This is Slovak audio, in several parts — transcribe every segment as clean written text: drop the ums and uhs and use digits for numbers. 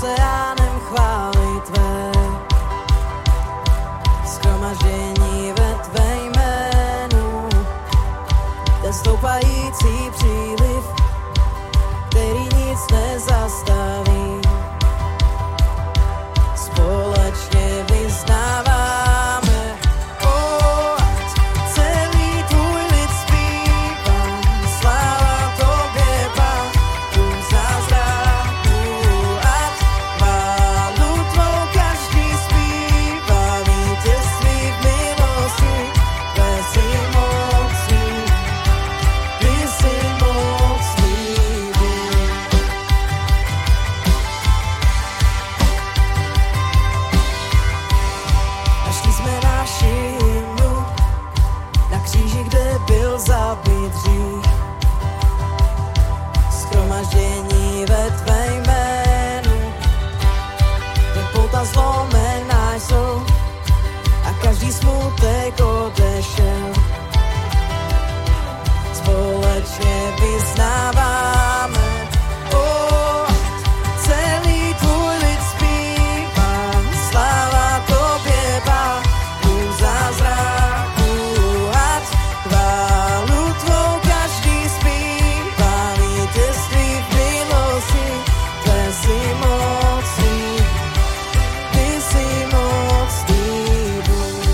oceánem chvály tvé. Shromaždění ve tvé jménu, ten stoupající příliv, který nic nezastaví. Společně vyznáváme, celý tvůj lid zpívá, sláva tobě, Pánu zázraků, ať chválu tvou každý zpívá, vítězství v milosti, tvé jsi mocný, ty jsi mocný. Našli jsme naši hymnu na kříži, kde byl zabit hřích. Shromaždění ve tvé jménu, jen pouta zlomená jsou a každý smutek odešel. Společně vyznáváme, celý tvůj lid zpívá, sláva tobě, Pánu zázraků, ať chválu tvou každý zpívá, vítězství v milosti, tvé jsi mocný, ty jsi mocný Bůh.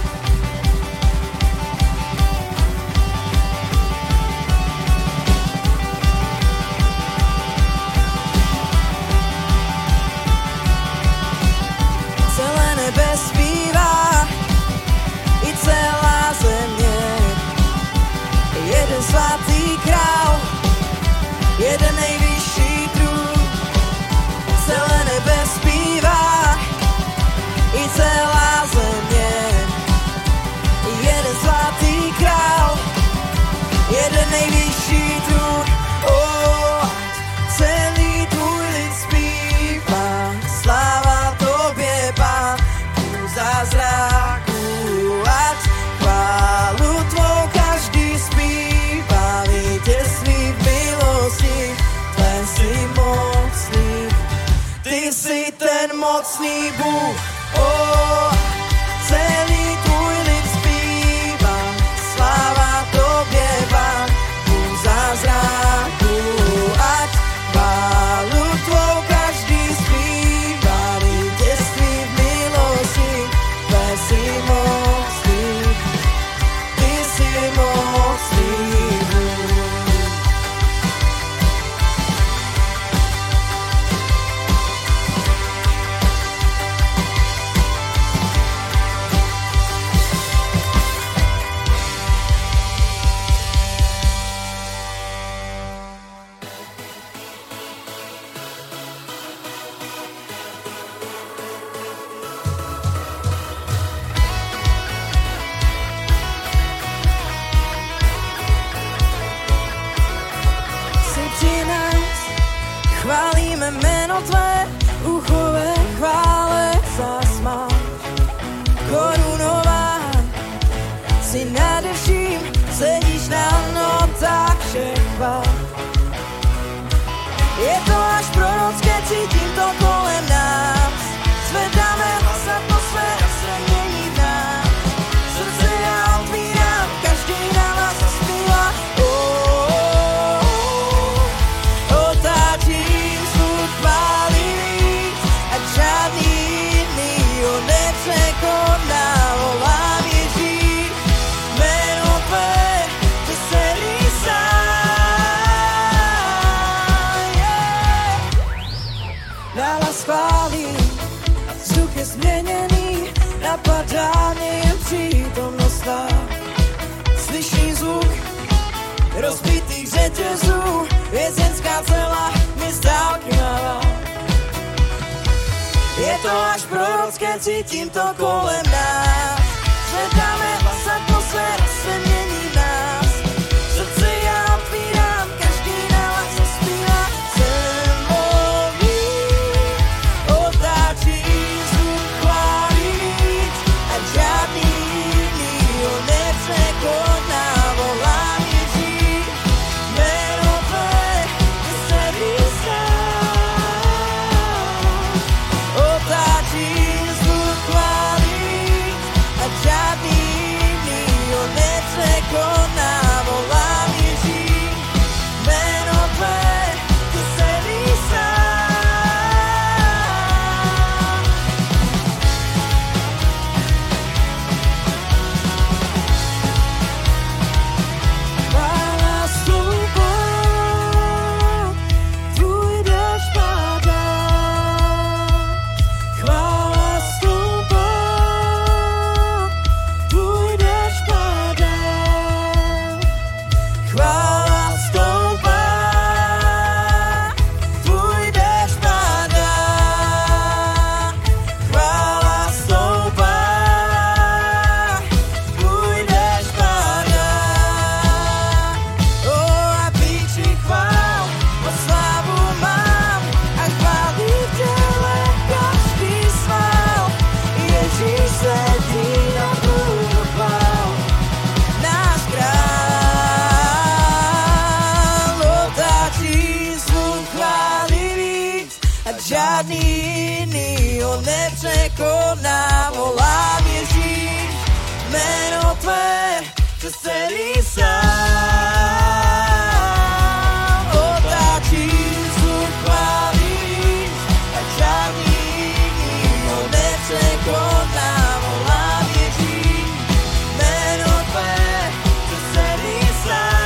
Celé nebe zpívá, i celá země. Jeden svatý král, jeden nejvyšší trůn. Celé nebe zpívá, i celá země. Jeden svatý král, jeden nejvyšší trůn. Celý tvůj lid zpívá, sláva tobě, Pánu zázraků, ať chválu tvou každý zpívá, vítězství v milosti, tvé jsi mocný, ty jsi ten mocný Bůh. Celý tvůj lid zpívá, sláva tobě, Pánu zázraků, ať chválu tvou každý zpívá, vítězství v milosti, tvé jsi mocný, ty jsi mocný Bůh. Si při nás chválíme jméno tvé, uchové chvále zasmáš. Korunován si nade vším, sedíš na notách všech chvál. Je to až prorocké, cítím to kolem nás. Zvedáme hlas, atmosféra se mění v nás. Srdce já otvírám, každý na vás zaspívá. Otáčím zvuk chvály víc, ať žádný jiný ho nepřekoná. Volám Ježíš, jméno tvé, ty celý sám. Nahlas chválím, vzduch je změněný, napadá mě jen přítomnost tvá. Slyším zvuk rozbitých řetězů, vězenská cela mi z dálky mává. Je to až prorocké, cítím to kolem nás. Zvedáme hlas, atmosféra se mění v nás. Srdce já otvírám, každý na vás zaspívá. Jsem volný, otáčím zvuk chvály víc, ať žádný jiný ho nepřekoná. Volám Ježíš, jméno tvé, ty celý sám. žádný jiný ho nepřekoná. Volám Ježíš, jméno tvé přes celý sám. Otáčím zvuk chválíš a žádný jiný ho nepřekoná. Volám Ježíš, jméno tvé přes celý sám.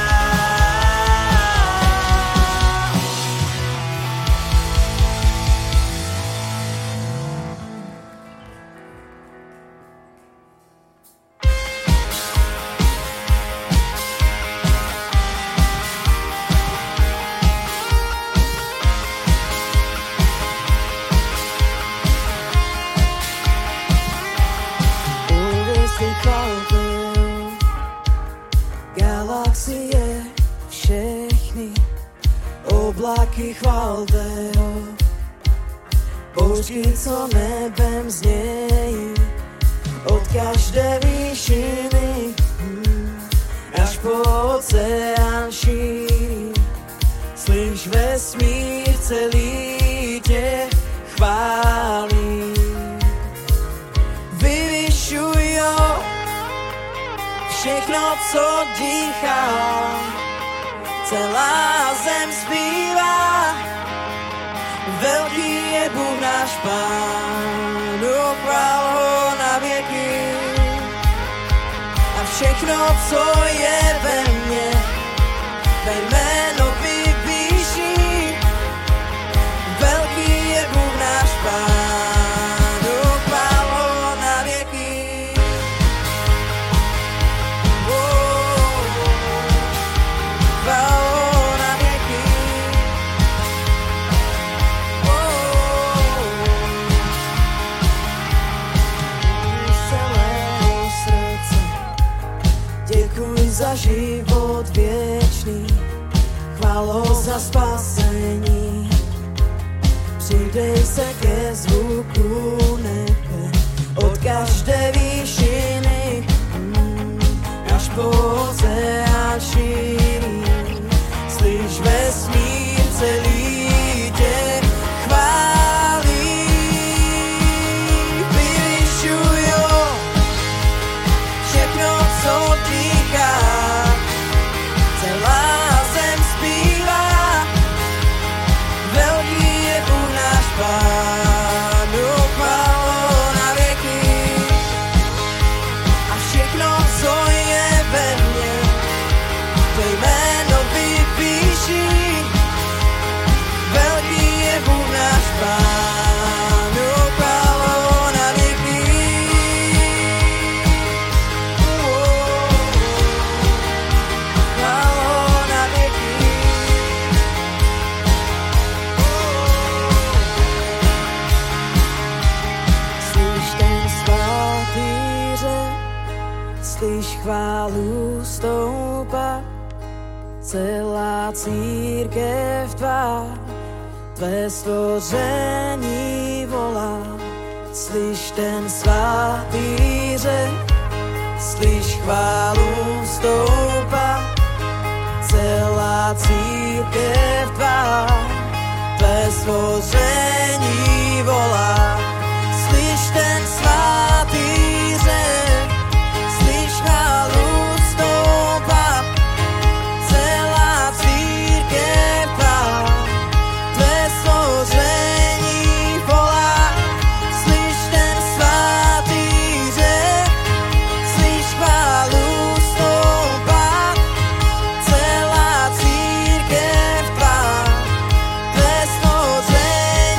Galaxie všechny, oblaky chvalte ho, bouřky, co nebem znějí, od každé výšiny až po oceán šíří. Slyš vesmír celý tě chválí. Vyvyšuj ho, všechno, co dýchá, celá zem zpívá. Velký je Bůh náš Pán, chvál ho na věky. A všechno, co je ve mně, tvé jméno vypíší. Velký je Bůh náš Pán, chvál ho na věky. Děkuji za život věčný, chválo za spasení. Přidej se ke zvuku nebe, od každé výšiny až po oceán šíří. Slyš vesmír celý tě chválí. Vyvyšuj ho, všechno, co dýchá, celá zem zpívá. Velký je Bůh náš Pán, chvál ho na věky. A všechno, co je ve mně, tvé jméno vypíší. Velký je Bůh náš Pán, chvál ho na věky. Chvál ho na věky. Slyš ten svatý řev, slyš chválu stoupat, celá církev tvá, tvé stvoření volá. Slyš ten svatý řev, slyš chválu stoupat, celá církev tvá, tvé stvoření volá. Slyš ten svatý řev, slyš chválu stoupat, celá církev tvá, tvé stvoření volá. Slyš ten svatý řev, slyš chválu stoupat, celá církev tvá, tvé stvoření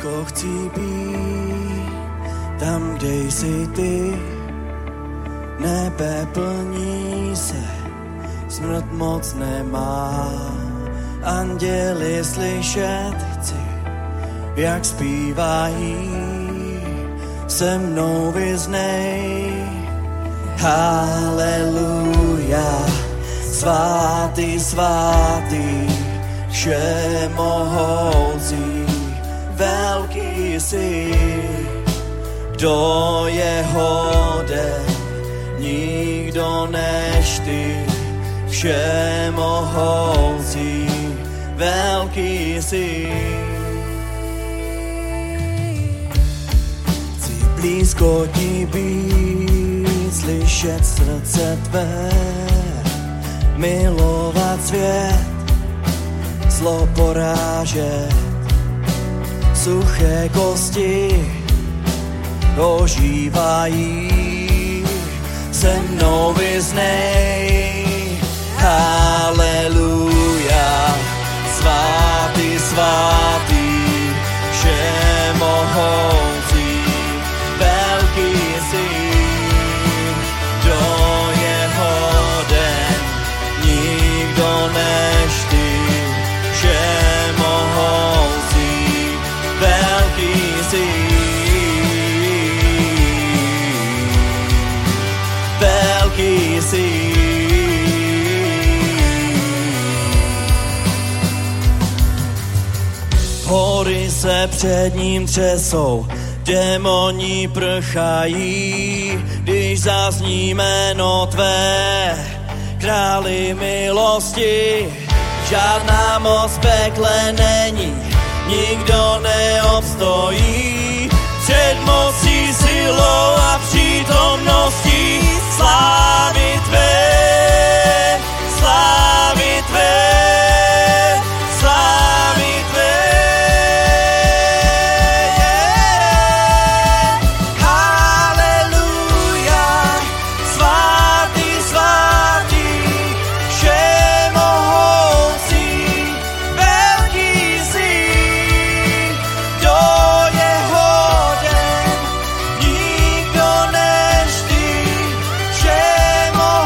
blízko chci být, tam, kde jsi ty. Nebe plní se, smrt moc nemá. Anděli slyšet chci, jak zpívají, se mnou vyznej. Haleluja, svatý, svatý, všemohoucí, velký jsi. Kdo je hoden, nikdo než ty, všemohoucí, velký jsi. Chci blízko ti být, slyšet srdce tvé, milovat svět, zlo porážet, suché kosti ožívají, se mnou vyznej. Haleluja, svatý, svatý, všemohoucí, velký jsi. Kdo je hoden, nikdo než ty, všemohoucí, velký jsi. Velký jsi. Hory se před ním třesou, démoni prchají, když zazní jméno tvé, králi milosti. Žádná moc v pekle není, nikdo neobstojí před mocí, silou a přítomností slávy tvé, slávy tvé, slávy tvé. Haleluja, svatý, svatý, všemohoucí, velký jsi. Kdo je hoden, nikdo než ty, všemohoucí,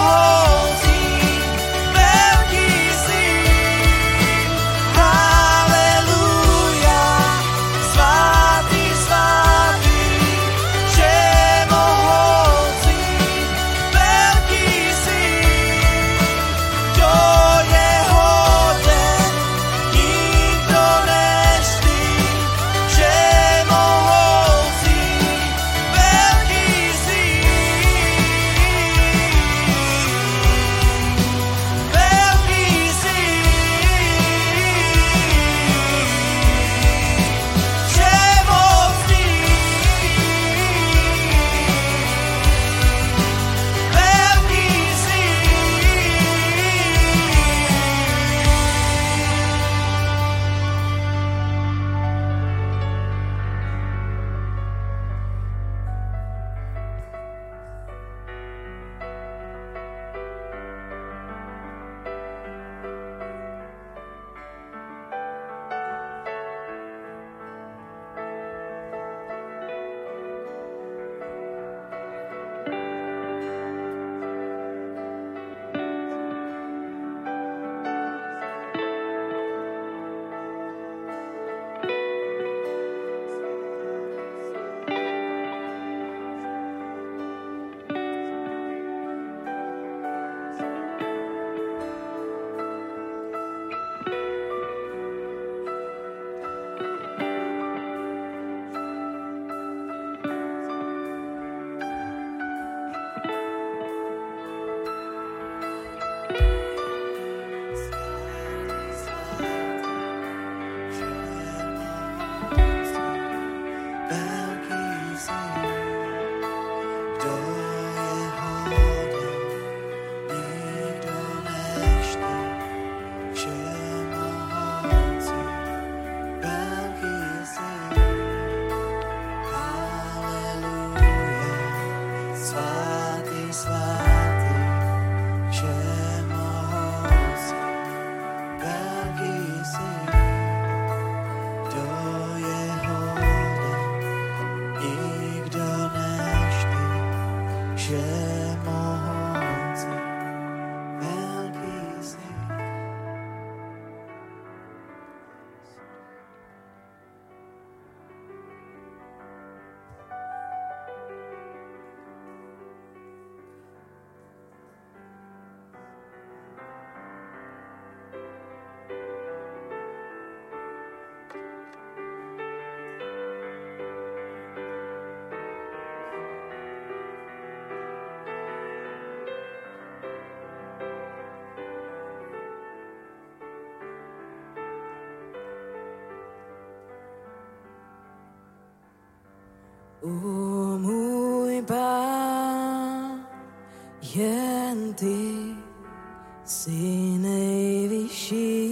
Můj Pán, jen ty jsi nejvyšší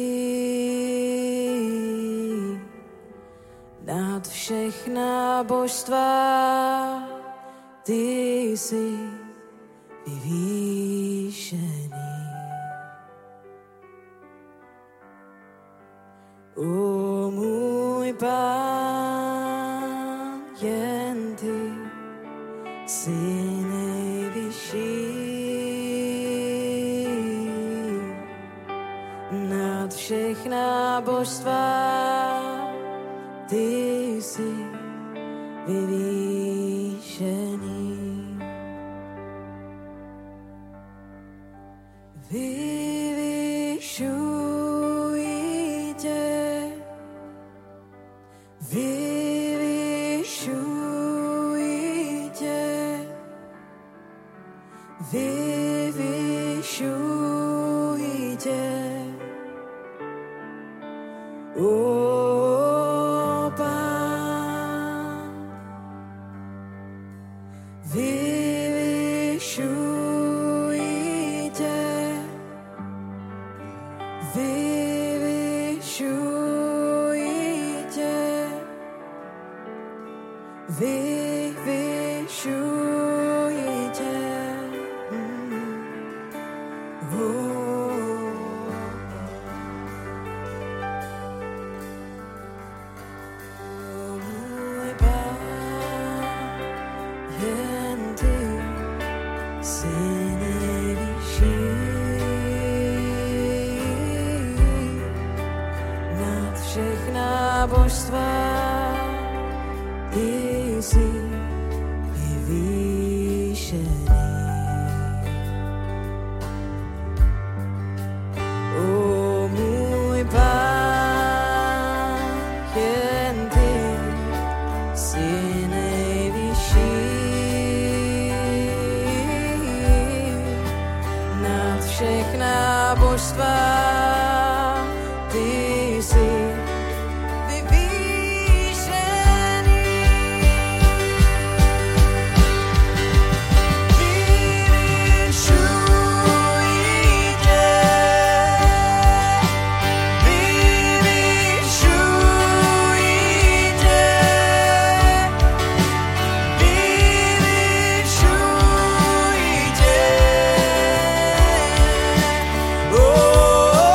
nad všechna božstva, ty jsi vyvýšený. O můj Pán, jen ty jsi nejvyšší nad všechna božstva, ty jsi vyvýšený. Vyvyšuji tě, vyvyšuji tě, vyvyšuji tě. O Pán, vyvyšuji tě, vyvyšuji tě, vyvyšuji tě. Můj Pán, jen ty jsi nejvyšší nad všechna božstva, ty jsi vyvýšený. O můj Pán, jen ty jsi nejvyšší nad všechna božstva, ty jsi oh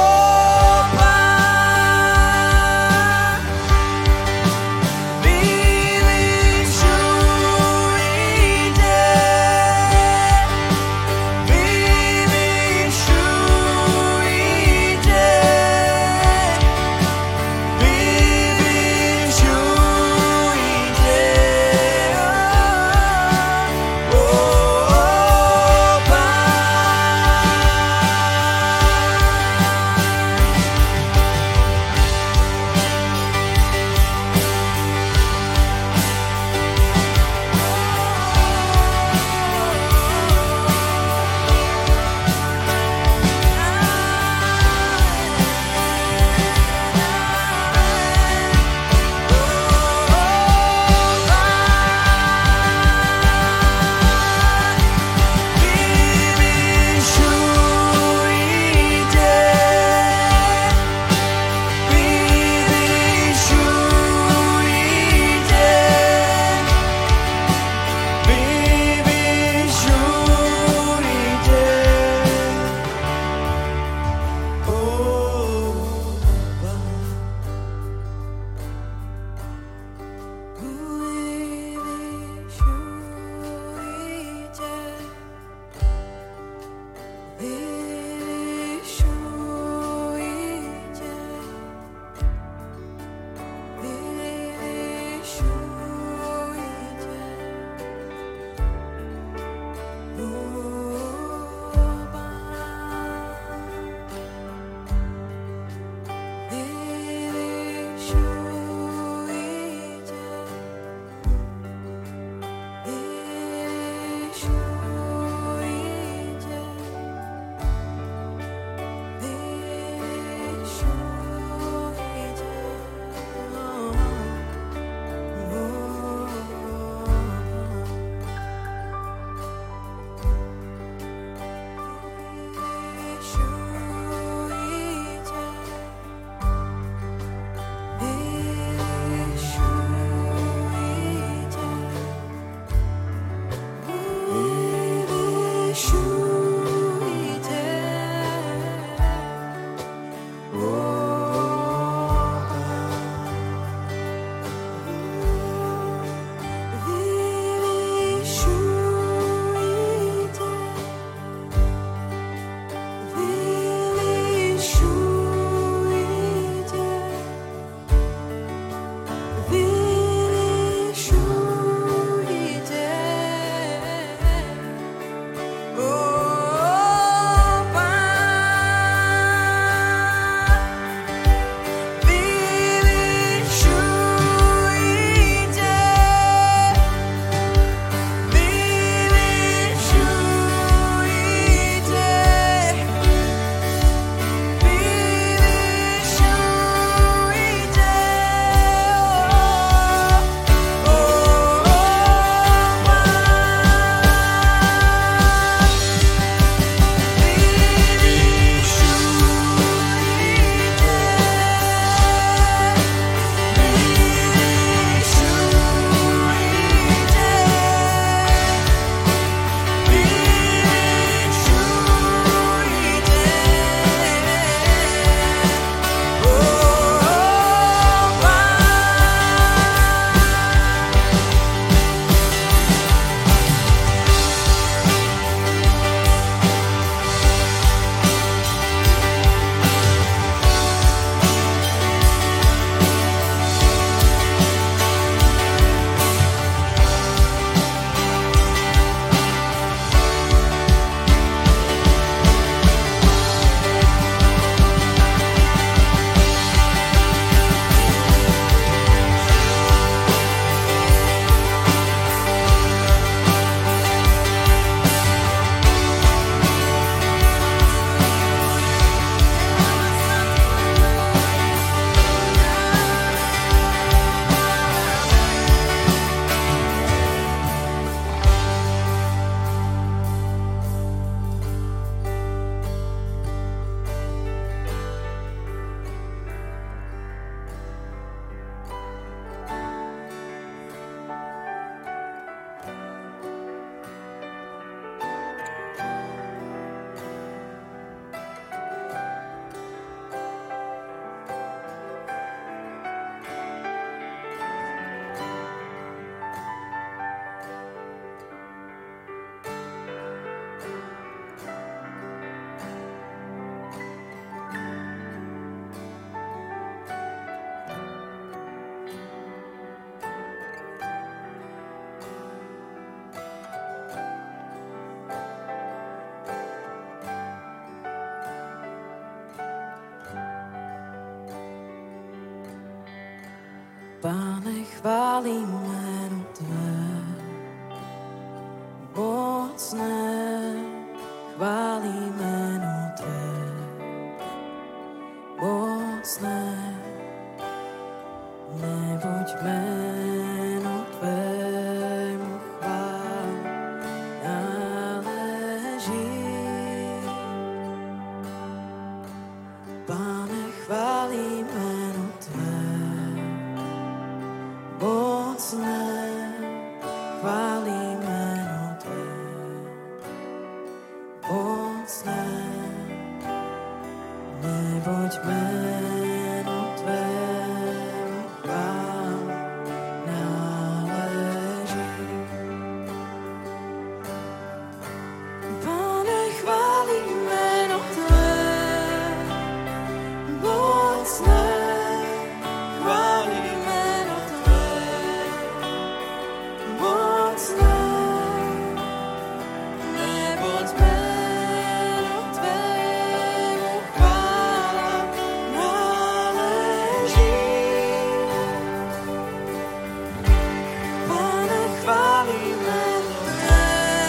Pane, chválím jméno Tvé, mocné, chválím jméno Tvé, mocné, neboť jméno Tvému chvál náleží. Pane, chválím jméno Tvé, mocné, chválím jméno Tvé, mocné, neboť jméno Tvému chvál náleží. Pane, chválím jméno Tvé, mocné, chválím jméno Tvé, mocné, neboť jméno Tvému chvála náleží. Pane, chválím jméno Tvé,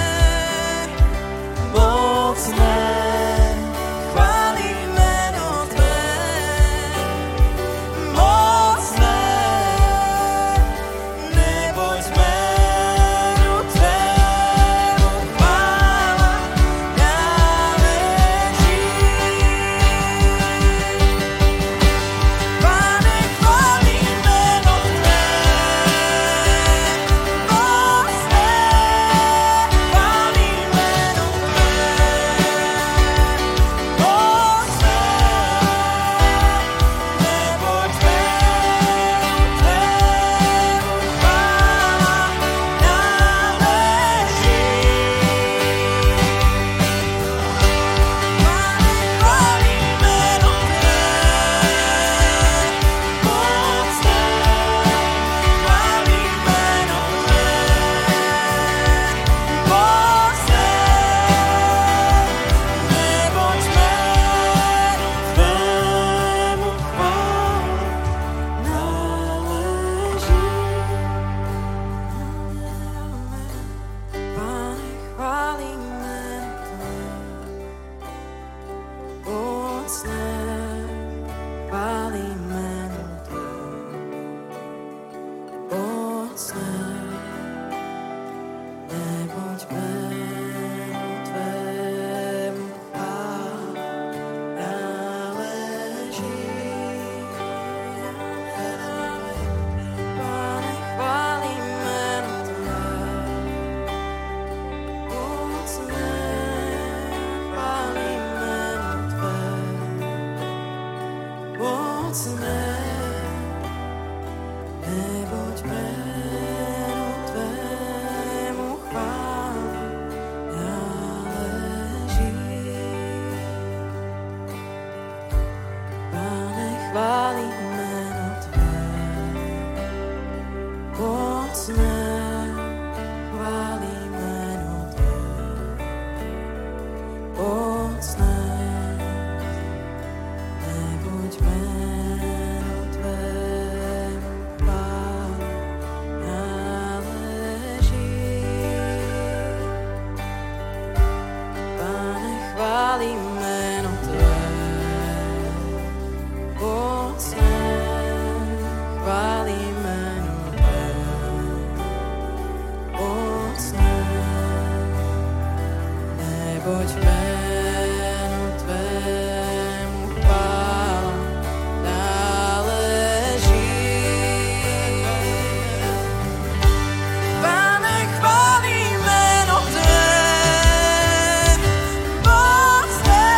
mocné, chválím jméno Tvé, mocné, neboť jménu Tvému chvála náleží. Pane, chválím jméno Tvé, mocné, chválím jméno Tvé, mocné, neboť jménu Tvému chvála náleží. Pane, chválím jméno Tvé, mocné, chválím jméno Tvé, mocné, neboť jménu Tvému chvála náleží. Pane, chválím jméno Tvé, mocné, chválím jméno Tvé, mocné, neboť jménu Tvému chvála náleží. Pane, chválím jméno Tvé, mocné, chválím jméno Tvé, mocné, neboť jménu Tvému chvála náleží. Pane, chválím jméno Tvé, mocné, chválím jméno Tvé, mocné, neboť jménu Tvému chvála náleží. Pane, chválím jméno Tvé, mocné, chválím jméno Tvé, mocné, neboť jménu Tvému chvála náleží. Pane, chválím jméno Tvé, mocné,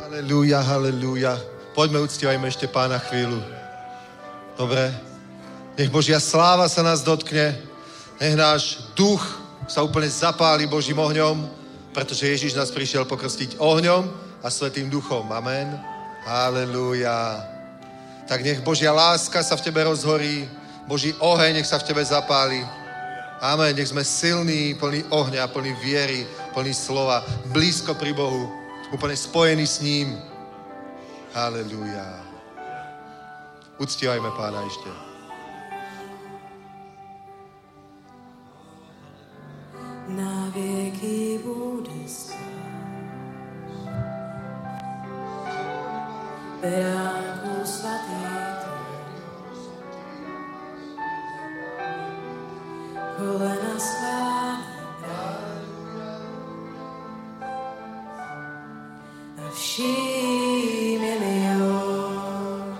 Halelúja, halelúja. Poďme, uctievajme ešte Pána chvíľu. Dobre? Nech Božia sláva sa nás dotkne. Nech náš duch sa úplne zapáli Božím ohňom, pretože Ježiš nás prišiel pokrstiť ohňom a Svätým duchom. Amen. Halelúja. Tak nech Božia láska sa v tebe rozhorí, Boží oheň nech sa v tebe zapáli. Amen. Nech sme silní, plní ohňa, plní viery, plní slova, blízko pri Bohu, úplne spojení s ním. Halelúja. Uctievajme Pána ešte. Na vieky bude stáť beránku svatý kolena skláňam a všímne mi on.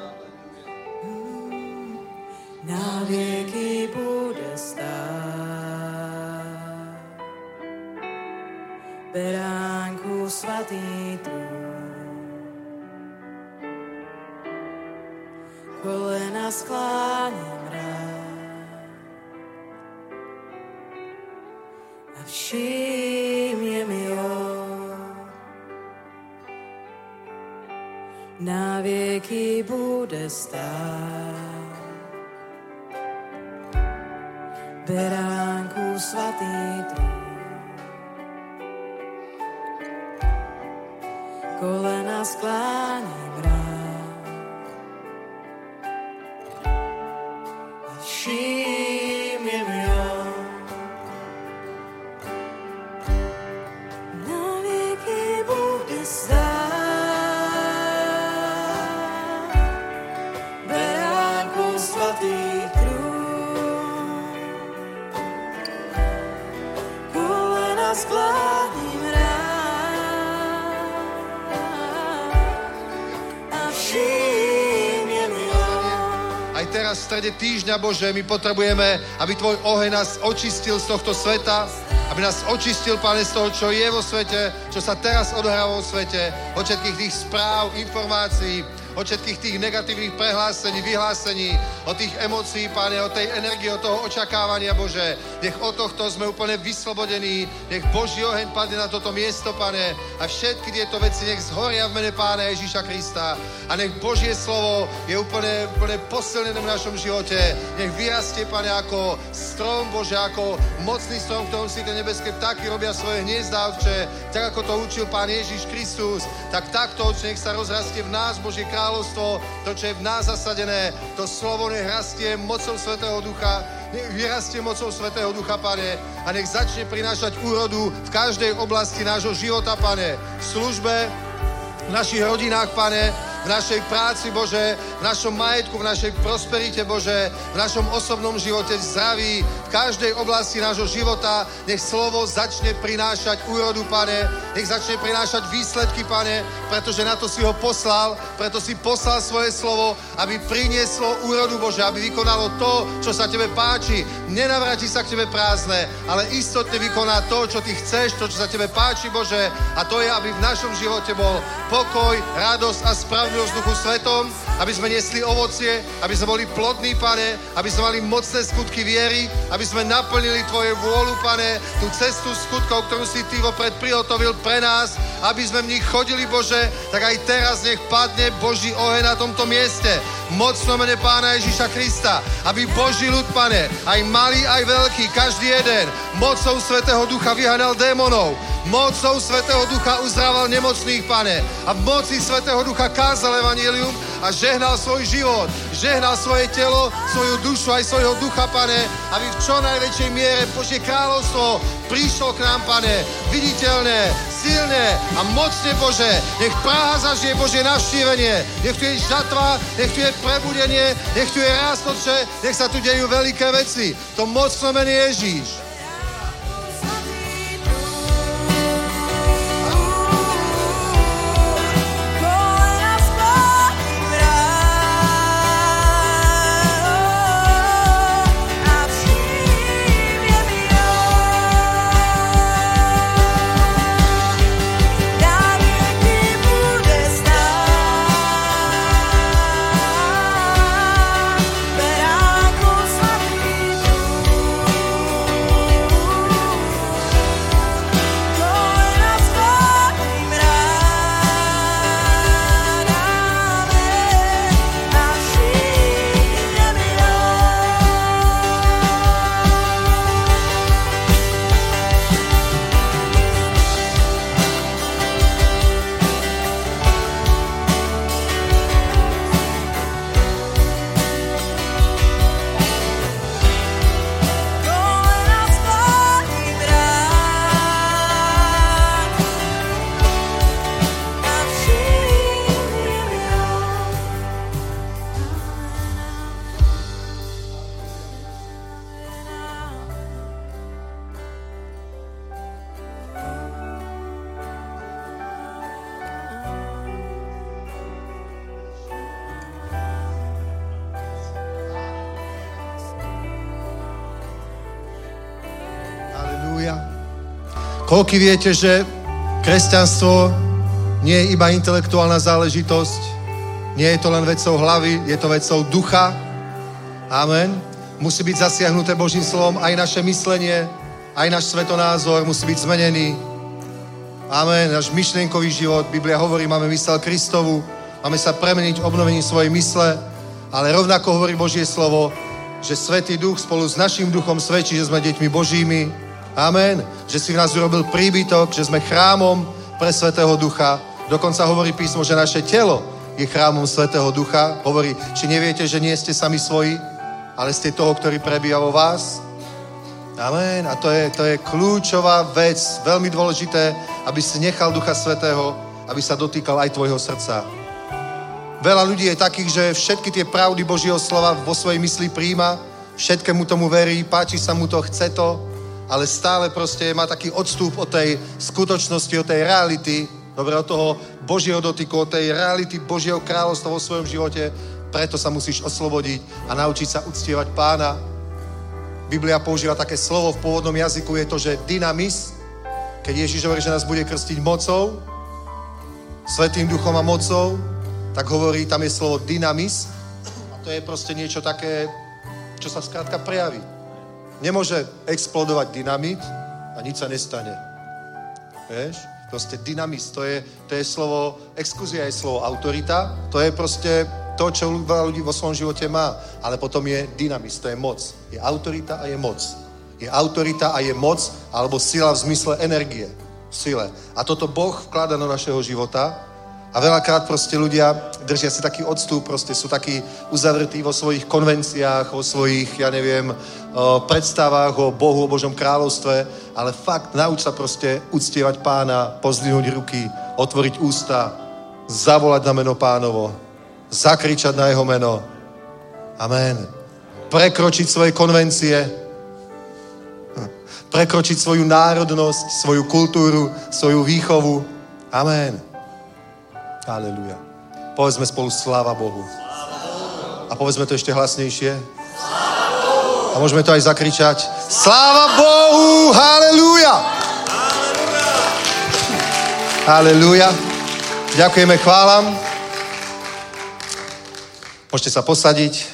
Na vieky bude stáť beránku svatý trún. Kolena skláňam rád a všimne mi on. Na vieky bude stáť beránku svatý trún. Kolena skláňam rád a všimne mi on. Na vieky bude stáť beránku svatý trún. Kolena skláňam rád. Aj teraz v strede týždňa, Bože, my potrebujeme, aby Tvoj oheň nás očistil z tohto sveta, aby nás očistil, Pane, z toho, čo je vo svete, čo sa teraz odohráva vo svete, od všetkých tých správ, informácií, od všetkých tých negatívnych prehlásení, vyhlásení, od tých emócií, Pane, od tej energie, od toho očakávania, Bože. Nech od tohto sme úplne vyslobodení, nech Boží oheň padne na toto miesto, Pane, a všetky tieto veci nech zhoria v mene Pána Ježíša Krista a nech Božie slovo je úplne posilnené v našom živote. Nech vyrastie, Pane, ako strom, Bože, ako mocný strom, v ktorom si tie nebeské vtáky robia svoje hniezdá, Otče, tak ako to učil Pán Ježíš Kristus, tak takto, Otče, nech sa rozrastie v nás, Božie kráľovstvo, to, čo je v nás zasadené, to slovo nech rastie mocou Svätého Ducha, nech vyrastie mocou Svätého Ducha, Pane, a nech začne prinášať úrodu v každej oblasti nášho života, Pane, v službe, v našich rodinách, Pane, v našej práci, Bože, v našom majetku, v našej prosperite, Bože, v našom osobnom živote, v zdraví, v každej oblasti nášho života, nech slovo začne prinášať úrodu, Pane, nech začne prinášať výsledky, Pane, pretože na to si ho poslal, preto si poslal svoje slovo, aby prinieslo úrodu, Bože, aby vykonalo to, čo sa Tebe páči. Nenavráti sa k Tebe prázdne, ale istotne vykoná to, čo Ty chceš, to, čo sa Tebe páči, Bože, a to je, aby v našom živote bol pokoj, radosť a spravodlivosť v Duchu Svetom, aby sme nesli ovocie, aby sme boli plodní, Pane, aby sme mali mocné skutky viery, aby sme naplnili Tvoje vôľu, Pane, tú cestu skutkov, ktorú si Ty vopred prihotovil pre nás, aby sme v nich chodili, Bože, tak aj teraz nech padne Boží oheň na tomto mieste. Mocno mene Pána Ježíša Krista, aby Boží ľud, Pane, aj malý, aj veľký, každý jeden, mocou Svätého Ducha vyhanal démonov, mocou Svätého Ducha uzdrával nemocných, Pane, a v moci Svätého Ducha kázal evanjelium a žehnal svoj život, žehnal svoje telo, svoju dušu aj svojho ducha, Pane, aby v čo najväčšej miere Božie kráľovstvo prišlo k nám, Pane, viditeľné, silné a mocne, Bože. Nech Praha zažije Božie navštívenie, nech tu je žatva, nech tu je prebudenie, nech tu je rast, Otče, nech sa tu dejú veľké veci. To mocno mene Ježíš. Na vieky bude Koľko viete, že kresťanstvo nie je iba intelektuálna záležitosť, nie je to len vecou hlavy, je to vecou ducha. Amen. Musí byť zasiahnuté Božím slovom aj naše myslenie, aj náš svetonázor musí byť zmenený. Amen. Náš myšlienkový život, Biblia hovorí, máme mysel Kristovu, máme sa premeniť obnovením svojej mysle, ale rovnako hovorí Božie slovo, že Svätý Duch spolu s naším duchom svedčí, že sme deťmi Božími. Amen. Že si v nás urobil príbytok, že sme chrámom pre Svätého Ducha. Dokonca hovorí písmo, že naše telo je chrámom Svätého Ducha. Hovorí, či neviete, že nie ste sami svoji, ale ste toho, ktorý prebýva vo vás. Amen. A to je kľúčová vec, veľmi dôležité, aby si nechal Ducha Svätého, aby sa dotýkal aj tvojho srdca. Veľa ľudí je takých, že všetky tie pravdy Božieho slova vo svojej mysli príjma, všetkému tomu verí, páči sa mu to, chce to, ale stále proste má taký odstup od tej skutočnosti, od tej reality, dobre, od toho Božieho dotyku, od tej reality Božieho kráľovstva vo svojom živote. Preto sa musíš oslobodiť a naučiť sa uctievať Pána. Biblia používa také slovo v pôvodnom jazyku, je to, že dynamis, keď Ježiš hovorí, že nás bude krstiť mocou, Svätým Duchom a mocou, tak hovorí, tam je slovo dynamis a to je proste niečo také, čo sa skrátka prejaví. Nemôže explodovať dynamit a nič sa nestane. Vieš? Proste dynamis, to je slovo, exkúzia je slovo autorita, to je proste to, čo veľa ľudí vo svojom živote má. Ale potom je dynamis, to je moc. Je autorita a je moc. Je autorita a je moc, alebo sila v zmysle energie. Sile. A toto Boh vklada do našeho života. A veľakrát proste ľudia držia si taký odstup, proste sú takí uzavretí vo svojich konvenciách, vo svojich, predstavách o Bohu, o Božom kráľovstve, ale fakt nauč sa proste uctievať Pána, pozdvihnúť ruky, otvoriť ústa, zavolať na meno Pánovo, zakričať na jeho meno. Amen. Prekročiť svoje konvencie, prekročiť svoju národnosť, svoju kultúru, svoju výchovu. Amen. Halelúja. Povedzme spolu sláva Bohu. A povedzme to ešte hlasnejšie. A môžeme to aj zakričať. Sláva Bohu! Halelúja! Halelúja. Ďakujeme, chválam. Môžete sa posadiť.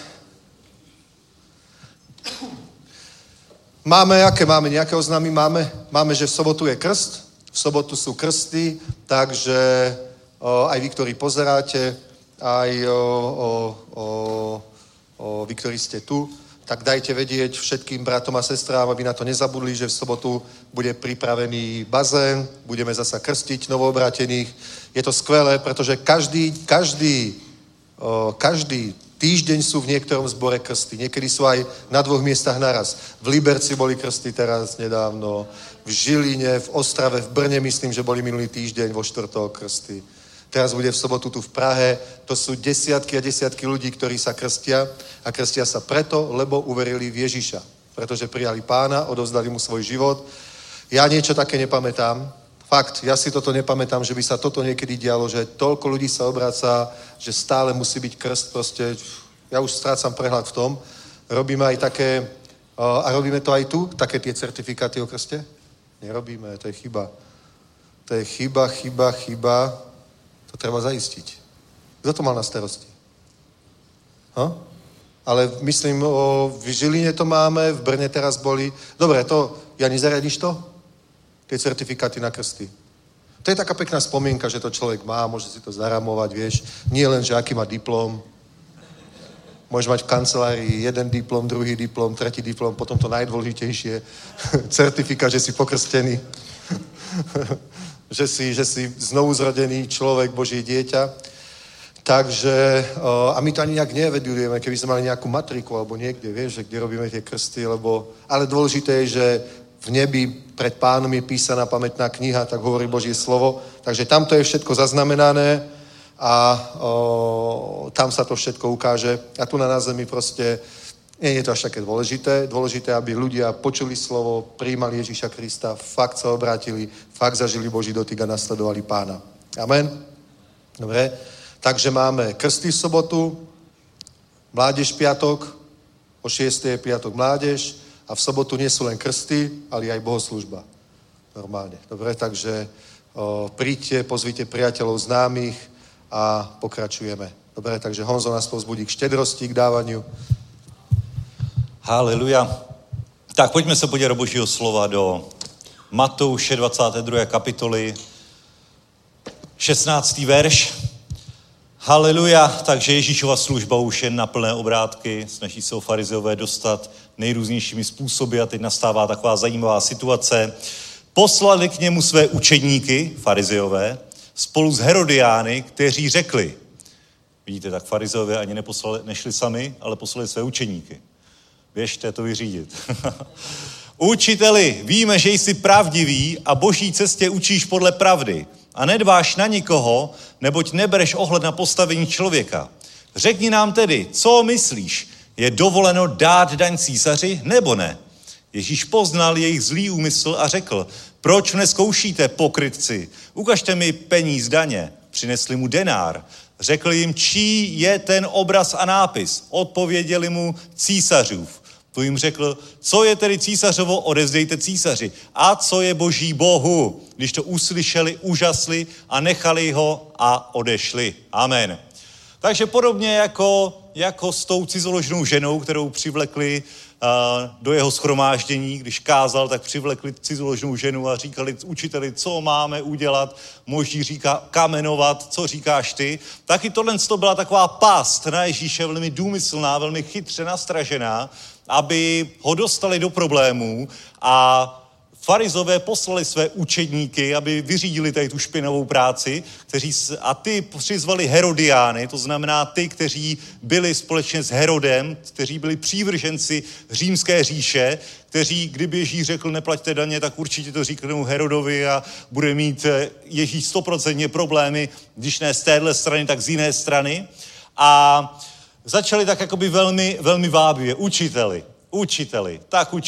Aké máme? Nejaké oznámy máme? Máme, že v sobotu je krst. V sobotu sú krsty, takže aj vy, ktorí pozeráte, aj vy, ktorí ste tu, tak dajte vedieť všetkým bratom a sestrám, aby na to nezabudli, že v sobotu bude pripravený bazén, budeme zasa krstiť novoobrátených. Je to skvelé, pretože každý týždeň sú v niektorom zbore krsty. Niekedy sú aj na 2 miestach naraz. V Liberci boli krsty teraz nedávno, v Žiline, v Ostrave, v Brne, myslím, že boli minulý týždeň vo štvrtok krsty. Teraz bude v sobotu tu v Prahe. To sú desiatky a desiatky ľudí, ktorí sa krstia. A krstia sa preto, lebo uverili v Ježiša. Pretože prijali Pána, odovzdali mu svoj život. Ja niečo také nepamätám. Fakt, ja si toto nepamätám, že by sa toto niekedy dialo, že toľko ľudí sa obráca, že stále musí byť krst. Proste, ja už strácam prehľad v tom. Robíme aj také, a robíme to aj tu, také tie certifikáty o krste? Nerobíme, to je chyba. To je chyba. To treba zaistiť. Kto to mal na starosti? Ale myslím, v Žiline to máme, v Brne teraz boli. Dobre, to, Jani, zariadiš to? Tie certifikáty na krsty. To je taká pekná spomienka, že to človek má, môže si to zaramovať, vieš. Nie len, že aký má diplom. Môžeš mať v kancelárii 1 diplom, 2 diplom, 3 diplom, potom to najdôležitejšie, certifikát, že si pokrstený. že si znovuzrodený človek, Božie dieťa. Takže, a my to ani nejak nevedujeme, keby sme mali nejakú matriku alebo niekde, vieš, že kde robíme tie krsty, ale dôležité je, že v nebi pred Pánom je písaná pamätná kniha, tak hovorí Božie slovo. Takže tam to je všetko zaznamenané a tam sa to všetko ukáže. A tu na zemi proste nie je to až také dôležité. Dôležité, aby ľudia počuli slovo, prijímali Ježíša Krista, fakt sa obrátili, fakt zažili Boží dotyk a nasledovali Pána. Amen? Dobre. Takže máme krsty v sobotu, mládež piatok, o 6. je piatok mládež a v sobotu nie sú len krsty, ale aj bohoslúžba. normálne. Dobre, takže príďte, pozvite priateľov, známych a pokračujeme. Dobre, takže Honzo nás povzbudí k štedrosti, k dávaniu. Haleluja. Tak pojďme se podívat do Božího slova do Matouše 22. kapitoly, 16. verš. Haleluja. Takže Ježíšova služba už je na plné obrátky. Snaží se o farizeové dostat nejrůznějšími způsoby a teď nastává taková zajímavá situace. Poslali k němu své učedníky, farizeové, spolu s Herodiány, kteří řekli, vidíte, tak farizeové ani nešli sami, ale poslali své učedníky. Běžte to vyřídit. Učiteli, víme, že jsi pravdivý a boží cestě učíš podle pravdy a nedbáš na nikoho, neboť nebereš ohled na postavení člověka. Řekni nám tedy, co myslíš? Je dovoleno dát daň císaři nebo ne? Ježíš poznal jejich zlý úmysl a řekl, proč nezkoušíte, pokrytci? Ukažte mi peníz daně. Přinesli mu denár. Řekl jim, čí je ten obraz a nápis. Odpověděli mu, císařův. Tu jim řekl, co je tedy císařovo, odevzdejte císaři. A co je boží Bohu? Když to uslyšeli, úžasli a nechali ho a odešli. Amen. Takže podobně jako s tou cizoložnou ženou, kterou přivlekli do jeho shromáždění, když kázal, tak přivlekli cizoložnou ženu a říkali učiteli, co máme udělat, možný říká kamenovat, co říkáš ty. Taky tohle byla taková past na Ježíše, velmi důmyslná, velmi chytře nastražená, aby ho dostali do problémů a farizové poslali své učedníky, aby vyřídili tady tu špinavou práci, a ty přizvali Herodiány, to znamená ty, kteří byli společně s Herodem, kteří byli přívrženci římské říše, kteří, kdyby Ježíš řekl, neplaťte daně, tak určitě to říknou Herodovi a bude mít Ježíš 100% problémy, když ne z téhle strany, tak z jiné strany. A začali tak jakoby velmi, velmi vábivě. Učiteli,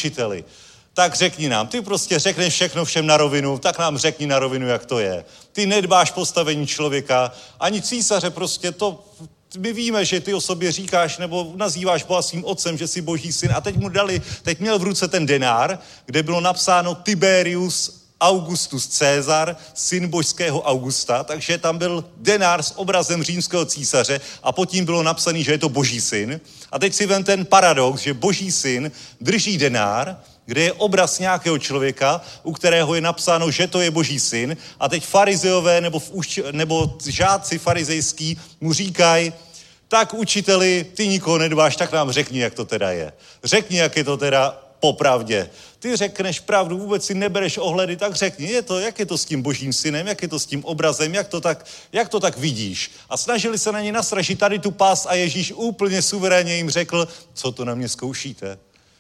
tak řekni nám, ty prostě řekneš všechno všem na rovinu, tak nám řekni na rovinu, jak to je. Ty nedbáš postavení člověka, ani císaře prostě to, my víme, že ty o sobě říkáš nebo nazýváš Boha svým otcem, že jsi boží syn a teď měl v ruce ten denár, kde bylo napsáno Tiberius Augustus Cezar, syn božského Augusta, takže tam byl denár s obrazem římského císaře a pod tím bylo napsané, že je to boží syn. A teď si vem ten paradox, že boží syn drží denár, kde je obraz nějakého člověka, u kterého je napsáno, že to je boží syn a teď farizeové nebo žáci farizejský mu říkají, tak učiteli, ty nikoho nedbáš, tak nám řekni, jak to teda je. Řekni, jak je to teda popravdě. Ty řekneš pravdu, vůbec si nebereš ohledy, tak řekni, jak je to s tím božím synem, jak je to s tím obrazem, jak to tak vidíš. A snažili se na ně nastražit tady tu past a Ježíš úplně suverénně jim řekl, co to na mě zkoušíte?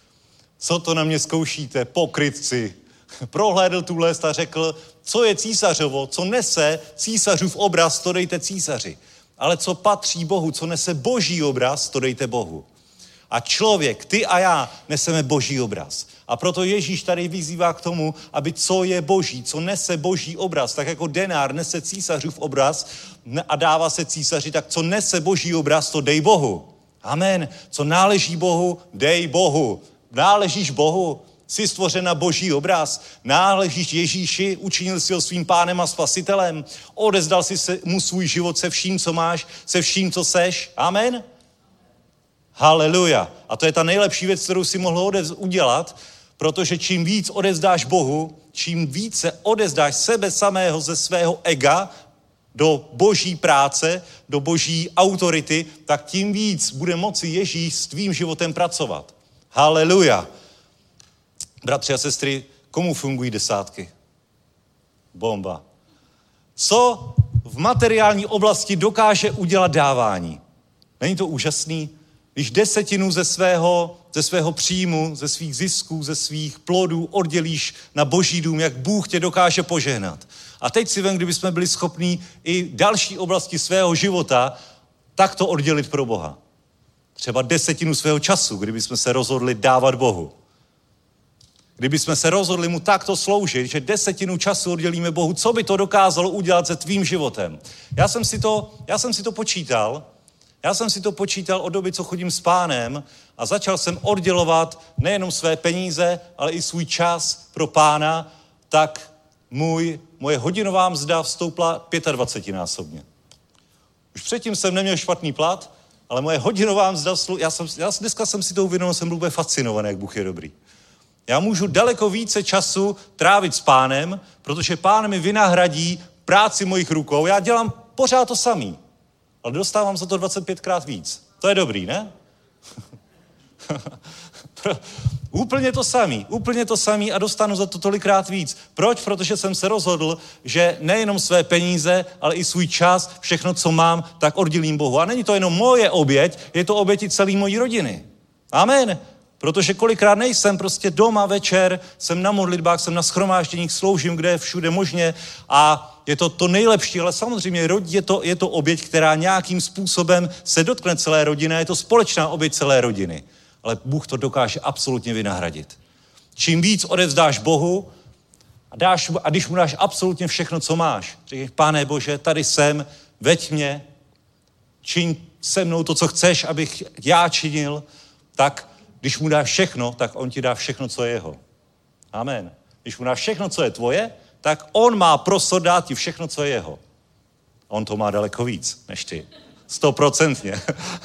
Co to na mě zkoušíte, pokrytci? Prohlédl tu list a řekl, co je císařovo, co nese císařův obraz, to dejte císaři. Ale co patří Bohu, co nese boží obraz, to dejte Bohu. A člověk, ty a já, neseme boží obraz. A proto Ježíš tady vyzývá k tomu, aby co je boží, co nese boží obraz, tak jako denár nese císařův obraz a dává se císaři, tak co nese boží obraz, to dej Bohu. Amen. Co náleží Bohu, dej Bohu. Náležíš Bohu, jsi stvořen na boží obraz, náležíš Ježíši, učinil jsi ho svým pánem a spasitelem, odezdal jsi mu svůj život se vším, co máš, se vším, co seš. Amen. Haleluja. A to je ta nejlepší věc, kterou si mohl udělat, protože čím víc odevzdáš Bohu, čím více odevzdáš sebe samého ze svého ega do boží práce, do boží autority, tak tím víc bude moci Ježíš s tvým životem pracovat. Haleluja. Bratři a sestry, komu fungují desátky? Bomba. Co v materiální oblasti dokáže udělat dávání? Není to úžasný? Když 10% ze svého příjmu, ze svých zisků, ze svých plodů oddělíš na boží dům, jak Bůh tě dokáže požehnat. A teď si vem, kdyby jsme byli schopní i další oblasti svého života takto oddělit pro Boha. Třeba 10% svého času, kdyby jsme se rozhodli dávat Bohu. Kdyby jsme se rozhodli mu takto sloužit, že 10% času oddělíme Bohu, co by to dokázalo udělat se tvým životem? Já jsem si to počítal. Já jsem si to počítal od doby, co chodím s Pánem a začal jsem oddělovat nejenom své peníze, ale i svůj čas pro Pána, tak moje hodinová mzda vstoupla 25násobně. Už předtím jsem neměl špatný plat, ale moje hodinová mzda, dneska jsem si to uvědomil, jsem byl úplně fascinovaný, jak Bůh je dobrý. Já můžu daleko více času trávit s Pánem, protože Pán mi vynahradí práci mojich rukou. Já dělám pořád to samý, ale dostávám za to 25krát víc. To je dobrý, ne? Úplně to samý a dostanu za to tolikrát víc. Proč? Protože jsem se rozhodl, že nejenom své peníze, ale i svůj čas, všechno, co mám, tak oddělím Bohu. A není to jenom moje oběť, je to oběť i celé mojí rodiny. Amen. Protože kolikrát nejsem prostě doma večer, jsem na modlitbách, jsem na shromážděních, sloužím, kde je všude možně a je to to nejlepší, ale samozřejmě je to oběť, která nějakým způsobem se dotkne celé rodiny, je to společná oběť celé rodiny. Ale Bůh to dokáže absolutně vynahradit. Čím víc odevzdáš Bohu a když mu dáš absolutně všechno, co máš, řekneš, Pane Bože, tady jsem, veď mě, čiň se mnou to, co chceš, abych já činil, tak když mu dáš všechno, tak on ti dá všechno, co je jeho. Amen. Když mu dáš všechno, co je tvoje, tak on má prostor dát ti všechno, co je jeho. On to má daleko víc, než ty. 100%.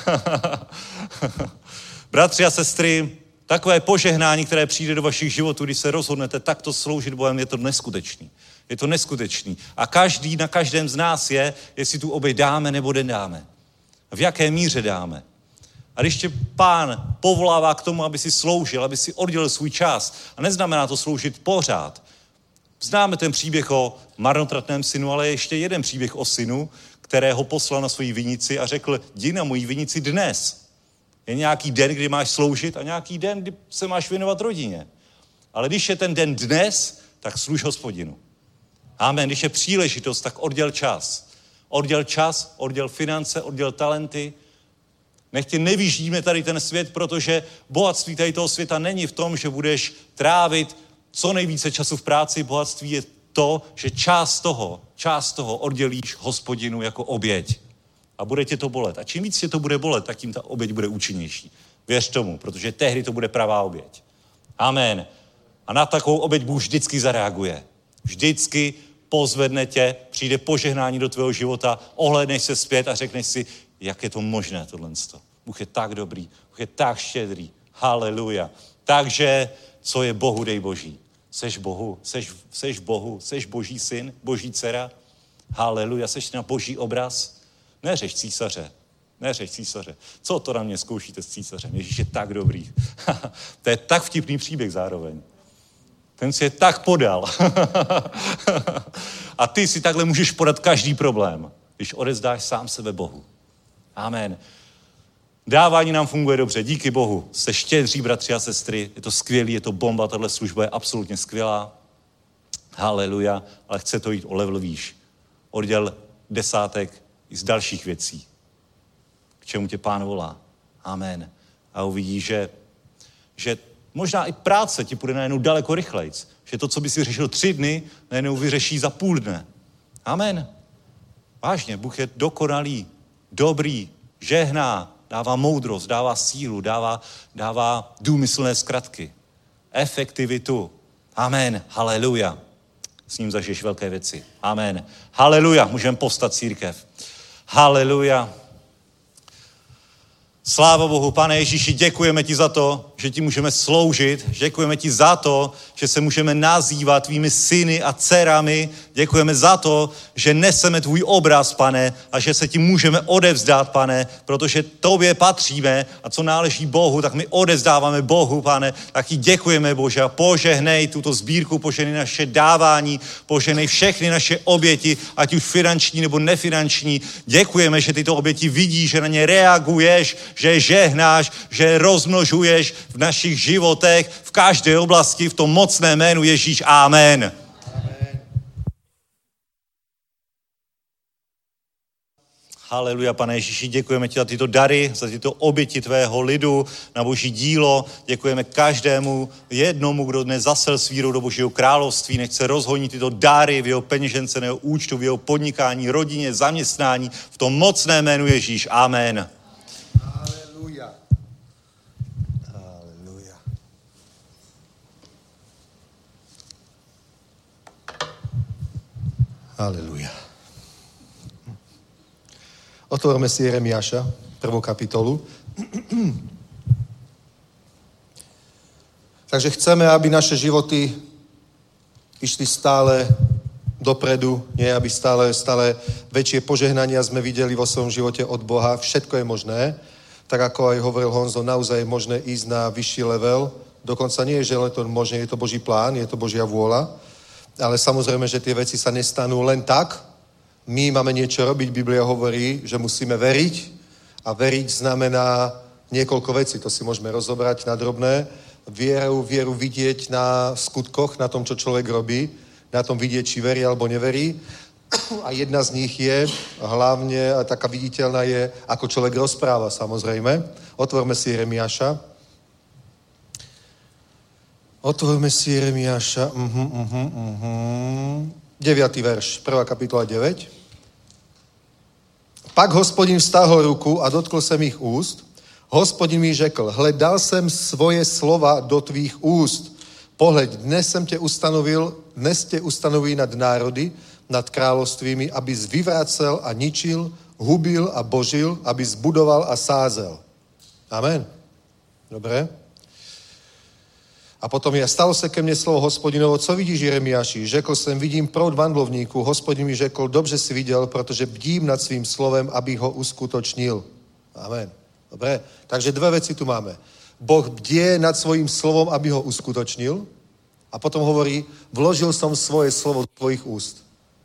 Bratři a sestry, takové požehnání, které přijde do vašich životů, když se rozhodnete takto sloužit Bohem, je to neskutečný. Je to neskutečný. A na každém z nás je, jestli tu oběť dáme nebo nedáme. V jaké míře dáme. A když tě Pán povolává k tomu, aby si sloužil, aby si oddělil svůj čas, a neznamená to sloužit pořád. Známe ten příběh o marnotratném synu, ale je ještě jeden příběh o synu, kterého poslal na svoji vinici a řekl, jdi na moji vinici dnes. Je nějaký den, kdy máš sloužit a nějaký den, kdy se máš věnovat rodině. Ale když je ten den dnes, tak služ Hospodinu. Amen. Když je příležitost, tak odděl čas. Odděl čas, odděl finance, odděl talenty. Nech tě nevyždíme tady ten svět, protože bohatství tady toho světa není v tom, že budeš trávit co nejvíce času v práci. Bohatství je to, že část toho oddělíš Hospodinu jako oběť. A bude tě to bolet. A čím víc tě to bude bolet, tak tím ta oběť bude účinnější. Věř tomu, protože tehdy to bude pravá oběť. Amen. A na takovou oběť Bůh vždycky zareaguje. Vždycky pozvedne tě, přijde požehnání do tvého života, ohlédneš se zpět a řekneš si, jak je to možné tohle. Bůh je tak dobrý, Bůh je tak štědrý. Haleluja. Takže, co je Bohu, dej Boží. Seš Bohu, seš Boží syn, Boží dcera. Haleluja, seš na Boží obraz. Neřeš císaře. Co to na mě zkoušíte s císařem? Ježíš je tak dobrý. To je tak vtipný příběh zároveň. Ten si je tak podal. A ty si takhle můžeš podat každý problém, když odevzdáš sám sebe Bohu. Amen. Dávání nám funguje dobře, díky Bohu. Jste štědří, bratři a sestry, je to skvělý, je to bomba, tahle služba je absolutně skvělá. Haleluja, ale chce to jít o level výš. Odděl desátek i z dalších věcí, k čemu tě Pán volá. Amen. A uvidíš, že možná i práce ti půjde najednou daleko rychlejc. Že to, co by si řešil 3 dny, najednou vyřeší za půl dne. Amen. Vážně, Bůh je dokonalý, dobrý, žehná, dává moudrost, dává sílu, dává důmyslné zkratky, efektivitu. Amen. Haleluja. S ním zažiješ velké věci. Amen. Haleluja. Můžeme povstat, církev. Haleluja. Sláva Bohu, Pane Ježíši, děkujeme ti za to, že ti můžeme sloužit. Děkujeme ti za to, že se můžeme nazývat tvými syny a dcerami. Děkujeme za to, že neseme tvůj obraz, Pane, a že se ti můžeme odevzdat, Pane, protože tobě patříme a co náleží Bohu, tak my odevzdáváme Bohu, Pane. Tak ti děkujeme, Bože, a požehnej tuto sbírku, požehnej naše dávání, požehnej všechny naše oběti, ať už finanční nebo nefinanční. Děkujeme, že tyto oběti vidíš, že na ně reaguješ, že žehnáš, že rozmnožuješ v našich životech, v každé oblasti, v tom mocném jménu Ježíš. Amen. Haleluja, Pane Ježíši, děkujeme ti za tyto dary, za tyto oběti tvého lidu na Boží dílo. Děkujeme každému jednomu, kdo dnes zasel s vírou do Božího království. Nech se rozhoní tyto dary v jeho peněžence, v jeho účtu, v jeho podnikání, rodině, zaměstnání. V tom mocném jménu Ježíš. Amen. Haleluja. Haleluja. Halelúja. Otvorme si Jeremiáša, 1. kapitolu. Takže chceme, aby naše životy išli stále dopredu, nie aby stále väčšie požehnania sme videli vo svojom živote od Boha. Všetko je možné. Tak ako aj hovoril Honzo, naozaj je možné ísť na vyšší level. Dokonca nie je, že len to možné, je to Boží plán, je to Božia vôľa. Ale samozrejme, že tie veci sa nestanú len tak. My máme niečo robiť. Biblia hovorí, že musíme veriť. A veriť znamená niekoľko vecí. To si môžeme rozobrať na drobné. Vieru vidieť na skutkoch, na tom, čo človek robí. Na tom vidieť, či verí alebo neverí. A jedna z nich je, hlavne a taká viditeľná je, ako človek rozpráva, samozrejme. Otvorme si Jeremiáša. 9. verš, 1. kapitola 9. Pak Hospodin vztáhol ruku a dotkl jsem jich úst. Hospodin mi řekl, hle, dal jsem svoje slova do tvých úst. Pohleď, dnes tě ustanoví nad národy, nad královstvími, abys vyvracel a ničil, hubil a božil, abys budoval a sázel. Amen. Dobre. A potom stalo se ke mně slovo Hospodinovo, co vidíš, Jeremiáši? Řekl jsem, vidím proud vandlovníků. Hospodin mi řekl, dobře si viděl, protože bdím nad svým slovem, abych ho uskutočnil. Amen. Dobre. Takže dve veci tu máme. Boh bdie nad svojím slovom, aby ho uskutočnil. A potom hovorí, vložil som svoje slovo do tvojich úst.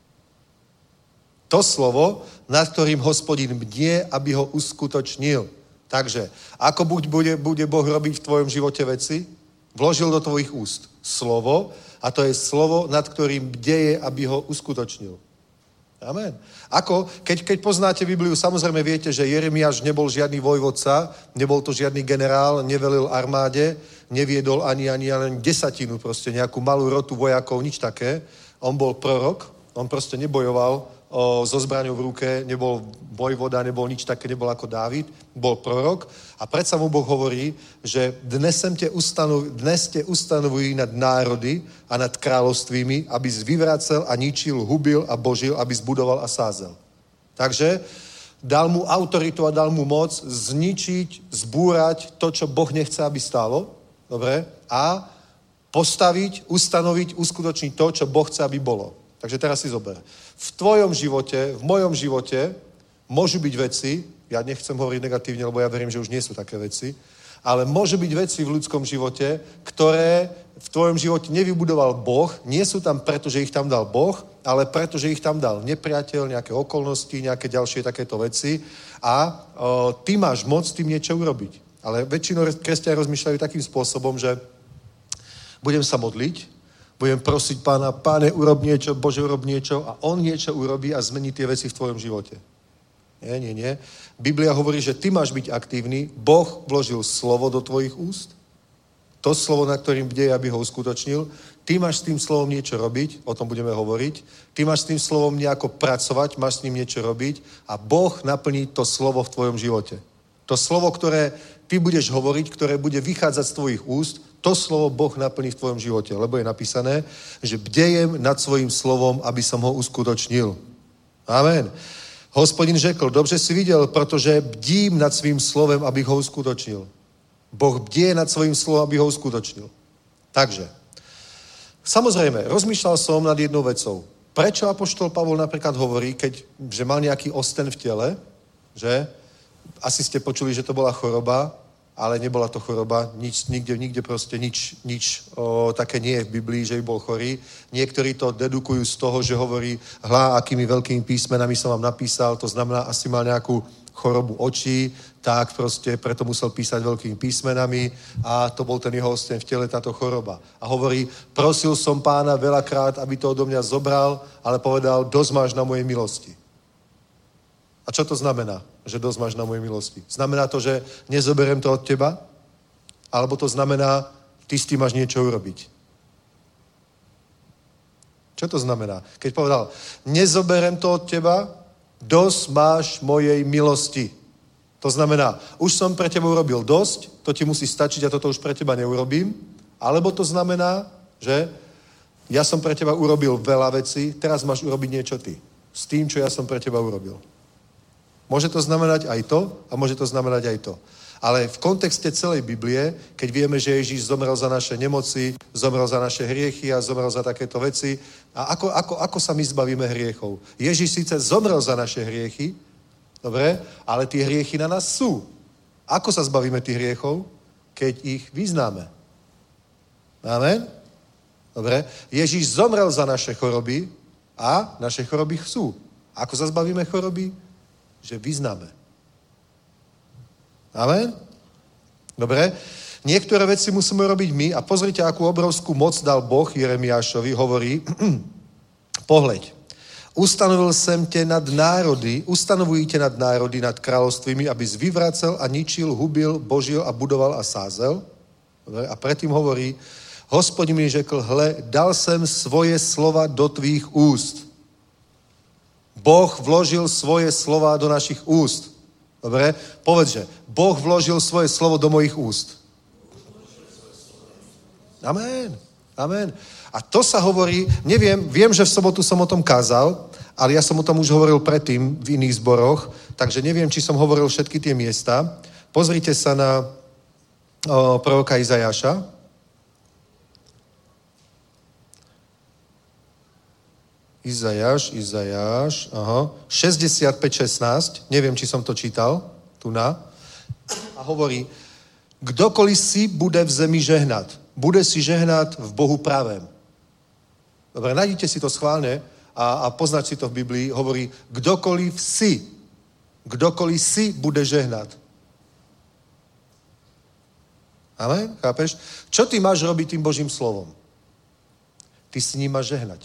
To slovo, nad ktorým Hospodin bdie, aby ho uskutočnil. Takže, ako bude Boh robiť v tvojom živote veci? Vložil do tvojich úst slovo a to je slovo, nad ktorým bdeje, aby ho uskutočnil. Amen. Ako, keď poznáte Bibliu, samozrejme viete, že Jeremiáš nebol žiadny vojvodca, nebol to žiadny generál, nevelil armáde, neviedol ani desatinu, proste nejakú malú rotu vojakov, nič také. On bol prorok, on proste nebojoval so zbraňou v ruke, nebol vojvoda, nebol nič také, nebol ako Dávid, bol prorok a predsa mu Boh hovorí, že dnes te ustanovují nad národy a nad kráľovstvími, abys vyvracel a ničil, hubil a božil, abys budoval a sázel. Takže dal mu autoritu a dal mu moc zničiť, zbúrať to, čo Boh nechce, aby stálo, dobre, a postaviť, ustanoviť, uskutočniť to, čo Boh chce, aby bolo. Takže teraz si zober. V tvojom živote, v mojom živote môžu byť veci, ja nechcem hovoriť negatívne, lebo ja verím, že už nie sú také veci, ale môžu byť veci v ľudskom živote, ktoré v tvojom živote nevybudoval Boh, nie sú tam preto, že ich tam dal Boh, ale preto, že ich tam dal nepriateľ, nejaké okolnosti, nejaké ďalšie takéto veci a ty máš moc tým niečo urobiť. Ale väčšinou kresťania rozmýšľajú takým spôsobom, že budem sa modliť, budem prosiť Pána, Páne, urob niečo, Bože, urob niečo a on niečo urobí a zmení tie veci v tvojom živote. Nie. Biblia hovorí, že ty máš byť aktívny, Boh vložil slovo do tvojich úst, to slovo, na ktorým bdeje, aby ho uskutočnil, ty máš s tým slovom niečo robiť, o tom budeme hovoriť, ty máš s tým slovom nejako pracovať, máš s ním niečo robiť a Boh naplní to slovo v tvojom živote. To slovo, ktoré ty budeš hovoriť, ktoré bude vychádzať z tvojich úst, to slovo Boh naplní v tvojom živote, lebo je napísané, že bdejem nad svojím slovom, aby som ho uskutočnil. Amen. Hospodin řekl, dobře si viděl, protože bdím nad svým slovem, abych ho uskutočnil. Boh bdie nad svojím slovom, aby ho uskutočnil. Takže, samozrejme, rozmýšľal som nad jednou vecou. Prečo apoštol Pavol napríklad hovorí, že mal nejaký osten v tele, že asi ste počuli, že to bola choroba, ale nebola to choroba, nikde proste nič také nie je v Biblii, že by bol chorý. Niektorí to dedukujú z toho, že hovorí, akými veľkými písmenami som vám napísal, to znamená, asi mal nejakú chorobu očí, tak proste preto musel písať veľkými písmenami a to bol ten jeho osten v tele, táto choroba. A hovorí, prosil som Pána veľakrát, aby to odo mňa zobral, ale povedal, dosť máš na mojej milosti. A čo to znamená, že dosť máš na mojej milosti? Znamená to, že nezoberiem to od teba? Alebo to znamená, ty s tým máš niečo urobiť? Čo to znamená? Keď povedal, nezoberiem to od teba, dosť máš mojej milosti. To znamená, už som pre teba urobil dosť, to ti musí stačiť a toto už pre teba neurobím. Alebo to znamená, že ja som pre teba urobil veľa vecí, teraz máš urobiť niečo ty. S tým, čo ja som pre teba urobil. Môže to znamenať aj to a môže to znamenať aj to. Ale v kontexte celej Biblie, keď vieme, že Ježíš zomrel za naše nemoci, zomrel za naše hriechy a zomrel za takéto veci, a ako sa my zbavíme hriechov? Ježíš síce zomrel za naše hriechy, dobre, ale tie hriechy na nás sú. Ako sa zbavíme tých hriechov? Keď ich vyznáme. Amen? Dobre. Ježíš zomrel za naše choroby a naše choroby sú. Ako sa zbavíme choroby? Že vyznáme. Amen? Dobre. Niektoré veci musíme robiť my a pozrite, akú obrovskú moc dal Boh Jeremiášovi. Hovorí, pohľaď. Ustanovujte nad národy, nad kráľovstvými, aby vyvracel a ničil, hubil, božil a budoval a sázel. Dobre? A predtým hovorí, Hospodin mi řekl, hle, dal jsem svoje slova do tvých úst. Boh vložil svoje slova do našich úst. Dobre? Povedz, že Boh vložil svoje slovo do mojich úst. Amen. Amen. A to sa hovorí, viem, že v sobotu som o tom kázal, ale ja som o tom už hovoril predtým v iných zboroch, takže neviem, či som hovoril všetky tie miesta. Pozrite sa na proroka Izajáša. Izajáš, 65:16, neviem, či som to čítal, tu na. A hovorí, kdokoliv si bude v zemi žehnat, bude si žehnat v Bohu pravém. Dobre, nájdite si to schválne a poznať si to v Biblii, hovorí, kdokoliv si bude žehnat. Amen, chápeš? Čo ty máš robiť tým Božím slovom? Ty si ním máš žehnať.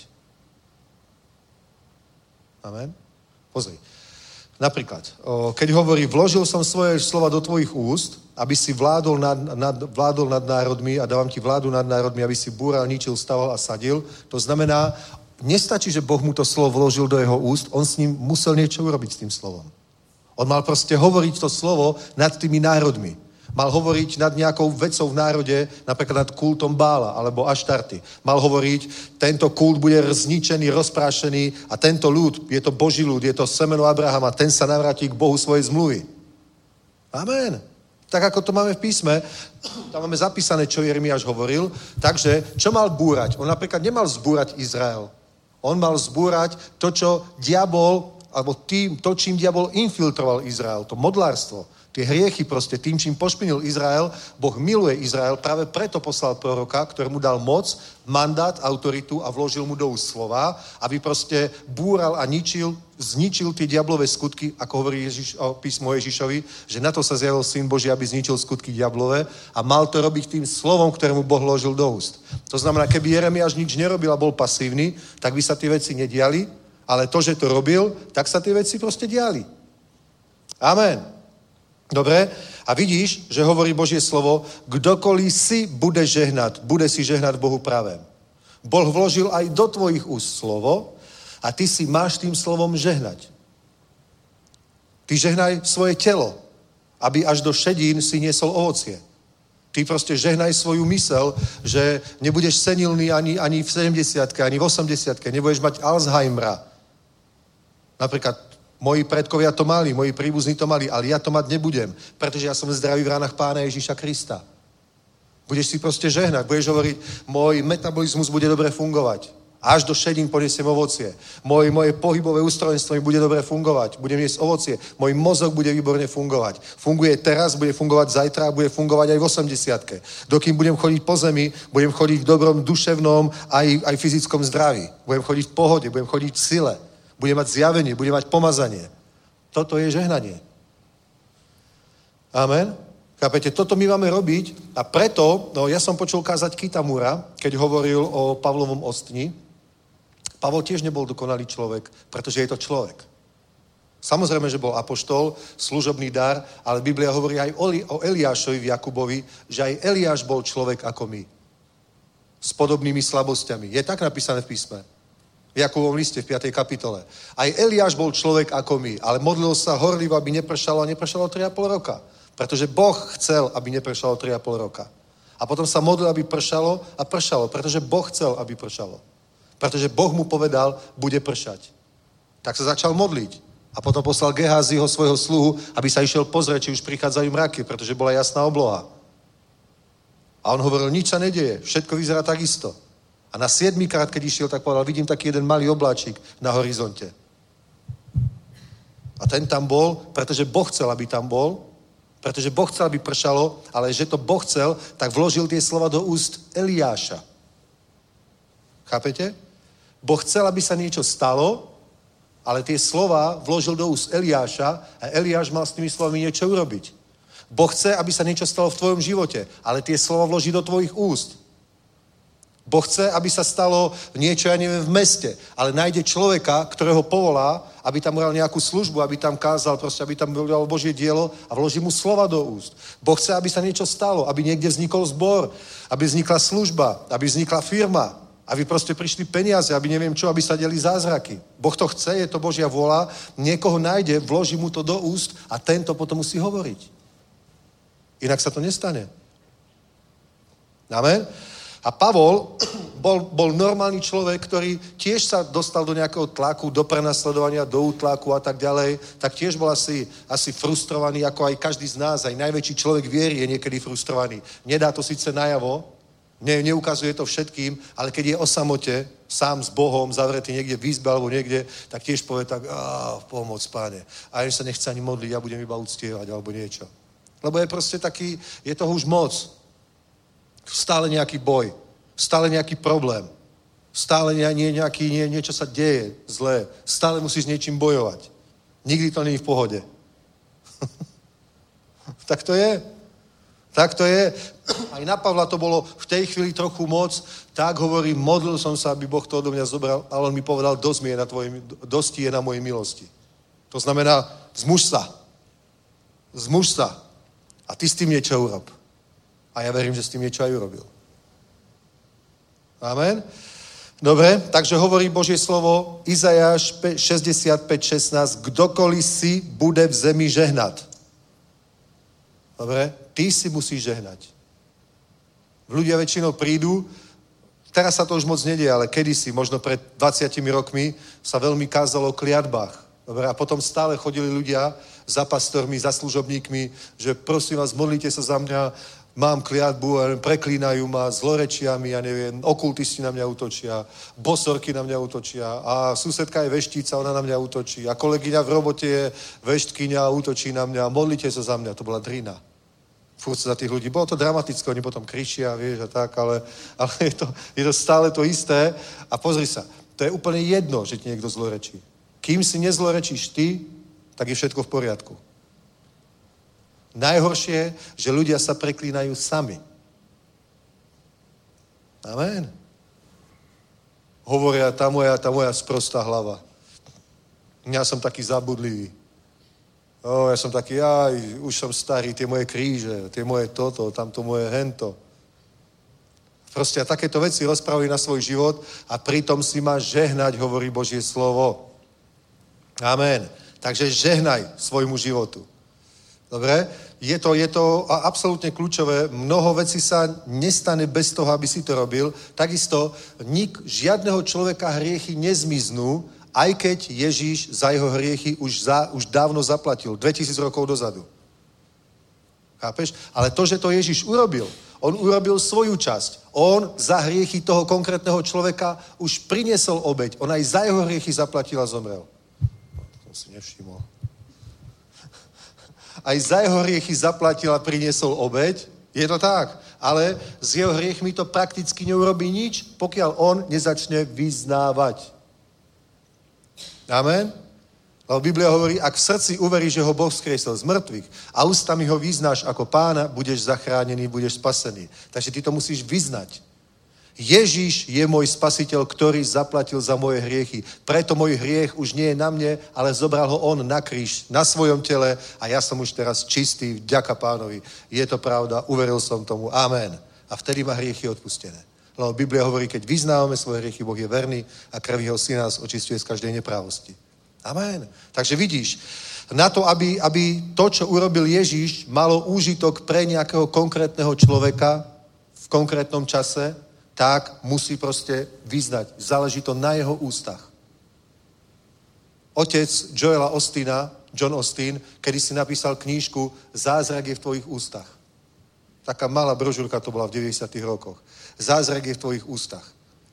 Amen. Pozri. Napríklad, keď hovorí, vložil som svoje slova do tvojich úst, aby si vládol nad národmi a dávam ti vládu nad národmi, aby si búral, ničil, staval a sadil. To znamená, nestačí, že Boh mu to slovo vložil do jeho úst, on s ním musel niečo urobiť s tým slovom. On mal proste hovoriť to slovo nad tými národmi. Mal hovoriť nad nejakou vecou v národe, napríklad nad kultom Bála alebo Aštarty. Mal hovoriť, tento kult bude zničený, rozprášený a tento ľud, je to Boží ľud, je to semeno Abrahama, ten sa navráti k Bohu svojej zmluvy. Amen. Tak ako to máme v písme, tam máme zapísané, čo Jeremiáš hovoril. Takže, čo mal búrať? On napríklad nemal zbúrať Izrael. On mal zbúrať to, čo diabol, alebo to, čím diabol infiltroval Izrael, to modlárstvo. Tie hriechy proste, tým, čím pošpinil Izrael, Boh miluje Izrael, práve preto poslal proroka, ktorému dal moc, mandát, autoritu a vložil mu do úst slova, aby proste búral a zničil tie diablové skutky, ako hovorí písmo Ježišovi, že na to sa zjavil Syn Boží, aby zničil skutky diablové a mal to robiť tým slovom, ktorému Boh vložil do úst. To znamená, keby Jeremiáš nič nerobil a bol pasívny, tak by sa tie veci nediali, ale to, že to robil, tak sa tie veci proste diali. Amen. Dobre? A vidíš, že hovorí Božie slovo, kdokoliv si bude žehnat, bude si žehnat Bohu pravém. Boh vložil aj do tvojich úst slovo a ty si máš tým slovom žehnať. Ty žehnaj svoje telo, aby až do šedín si niesol ovocie. Ty proste žehnaj svoju mysel, že nebudeš senilný ani v 70-ke, ani v 80-ke, nebudeš mať Alzheimera. Napríklad moji predkovia to mali, moji príbuzní to mali, ale ja to mať nebudem, pretože ja som zdravý v ránach Pána Ježíša Krista. Budeš si proste žehnať, budeš hovoriť, môj metabolizmus bude dobre fungovať. Až do šedín poniesiem ovocie. Moje pohybové ústrojenstvo mi bude dobre fungovať. Budem jesť ovocie. Môj mozog bude výborne fungovať. Funguje teraz, bude fungovať zajtra a bude fungovať aj v 80-ke. Dokým budem chodiť po zemi, budem chodiť v dobrom duševnom aj fyzickom zdraví. Budem chodiť v pohode, budem chodiť v sile. Budem mať zjavenie, budem mať pomazanie. Toto je žehnanie. Amen. Chápete, toto my máme robiť a preto, ja som počul kázať Kitamura, keď hovoril o Pavlovom ostni. Pavol tiež nebol dokonalý človek, pretože je to človek. Samozrejme, že bol apoštol, služobný dar, ale Biblia hovorí aj o Eliášovi v Jakubovi, že aj Eliáš bol človek ako my. S podobnými slabosťami. Je tak napísané v písme. V Jakubovom liste v 5. kapitole. Aj Eliáš bol človek ako my, ale modlil sa horlivo, aby nepršalo a nepršalo 3,5 roka. Pretože Boh chcel, aby nepršalo 3,5 roka. A potom sa modlil, aby pršalo a pršalo, pretože Boh chcel, aby pršalo. Pretože Boh mu povedal, bude pršať. Tak sa začal modliť. A potom poslal Gehaziho, svojho sluhu, aby sa išiel pozrieť, či už prichádzajú mraky, pretože bola jasná obloha. A on hovoril, nič sa nedeje, všetko vyzerá takisto. A na 7. krát, keď išiel, tak povedal, vidím taký jeden malý obláčik na horizonte. A ten tam bol, pretože Boh chcel, aby tam bol, pretože Boh chcel, aby pršalo, ale že to Boh chcel, tak vložil tie slova do úst Eliáša. Chápete? Boh chcel, aby sa niečo stalo, ale tie slova vložil do úst Eliáša a Eliáš mal s tými slovami niečo urobiť. Boh chce, aby sa niečo stalo v tvojom živote, ale tie slova vloží do tvojich úst. Boh chce, aby sa stalo niečo, ja neviem, v meste, ale nájde človeka, ktorého povolá, aby tam ural nejakú službu, aby tam kázal, proste, aby tam dal Božie dielo a vloží mu slova do úst. Boh chce, aby sa niečo stalo, aby niekde vznikol zbor, aby vznikla služba, aby vznikla firma, aby proste prišli peniaze, aby neviem čo, aby sa diali zázraky. Boh to chce, je to Božia vôľa, niekoho nájde, vloží mu to do úst a tento potom musí hovoriť. Inak sa to nestane. Amen? A Pavol bol normálny človek, ktorý tiež sa dostal do nejakého tlaku, do prenasledovania, do útlaku a tak ďalej, tak tiež bol asi frustrovaný, ako aj každý z nás, aj najväčší človek viery je niekedy frustrovaný. Nedá to síce najavo, neukazuje to všetkým, ale keď je o samote, sám s Bohom, zavretý niekde v izbe alebo niekde, tak tiež povie tak, pomoc, Páne. A že sa nechce ani modliť, ja budem iba uctievať alebo niečo. Lebo je proste taký, je toho už moc. Stále nejaký boj, stále nejaký problém, stále niečo sa deje zlé, stále musíš s niečím bojovať. Nikdy to nie je v pohode. Tak to je. Tak to je. Aj na Pavla to bolo v tej chvíli trochu moc, tak hovorí, modlil som sa, aby Boh to odo mňa zobral, ale on mi povedal, dosti je na mojej milosti. To znamená, zmuž sa. Zmuž sa. A ty s tým niečo urob. A ja verím, že s tým niečo aj urobil. Amen. Dobre, takže hovorí Božie slovo Izajáš 65:16, kdokoliv si bude v zemi žehnať. Dobre, ty si musíš žehnať. Ľudia väčšinou prídu, teraz sa to už moc nedie, ale kedysi, možno pred 20 rokmi, sa veľmi kázalo o kliatbách. Dobre, a potom stále chodili ľudia za pastormi, za služobníkmi, že prosím vás, modlite sa za mňa, mám kliatbu, preklínajú ma zlorečiami, ja neviem, okultisti na mňa útočia, bosorky na mňa útočia a susedka je veštíca, ona na mňa útočí a kolegyňa v robote je veštkyňa a útočí na mňa, modlite sa za mňa, to bola drina. Furt sa za tých ľudí, bolo to dramatické, oni potom kričia, vieš, a tak, ale je to stále to isté a pozri sa, to je úplne jedno, že ti niekto zlorečí. Kým si nezlorečíš ty, tak je všetko v poriadku. Najhoršie, že ľudia sa preklínajú sami. Amen. Hovoria, tá moja sprostá hlava. Ja som taký zabudlivý. Ja som taký, už som starý, tie moje kríže, tie moje toto, tamto moje hento. Proste a takéto veci rozprávajú na svoj život a pritom si máš žehnať, hovorí Božie slovo. Amen. Takže žehnaj svojmu životu. Dobre? Je to absolútne kľúčové. Mnoho vecí sa nestane bez toho, aby si to robil. Takisto žiadneho človeka hriechy nezmiznú, aj keď Ježíš za jeho hriechy už dávno zaplatil. 2000 rokov dozadu. Chápeš? Ale to, že to Ježíš urobil, on urobil svoju časť. On za hriechy toho konkrétneho človeka už priniesol obeť. On aj za jeho hriechy zaplatil a zomrel. To si nevšimol. Aj za jeho hriechy zaplatil a priniesol obeť. Je to tak. Ale s jeho hriechmi to prakticky neurobí nič, pokiaľ on nezačne vyznávať. Amen? Lebo Biblia hovorí, ak v srdci uveríš, že ho Boh vzkriesil z mŕtvych a ústami ho vyznáš ako pána, budeš zachránený, budeš spasený. Takže ty to musíš vyznať. Ježíš je môj spasiteľ, ktorý zaplatil za moje hriechy. Preto môj hriech už nie je na mne, ale zobral ho on na kríž, na svojom tele a ja som už teraz čistý, vďaka pánovi. Je to pravda, uveril som tomu. Amen. A vtedy má hriechy odpustené. Lebo Biblia hovorí, keď vyznávame svoje hriechy, Boh je verný a krv jeho syna nás očistuje z každej neprávosti. Amen. Takže vidíš, na to, aby to, čo urobil Ježíš, malo úžitok pre nejakého konkrétneho človeka v konkrétnom čase, tak musí proste vyznať. Záleží to na jeho ústach. Otec Joela Ostina, John Osteen, kedy si napísal knížku Zázrak je v tvojich ústach. Taká malá brožúrka to bola v 90. rokoch. Zázrak je v tvojich ústach.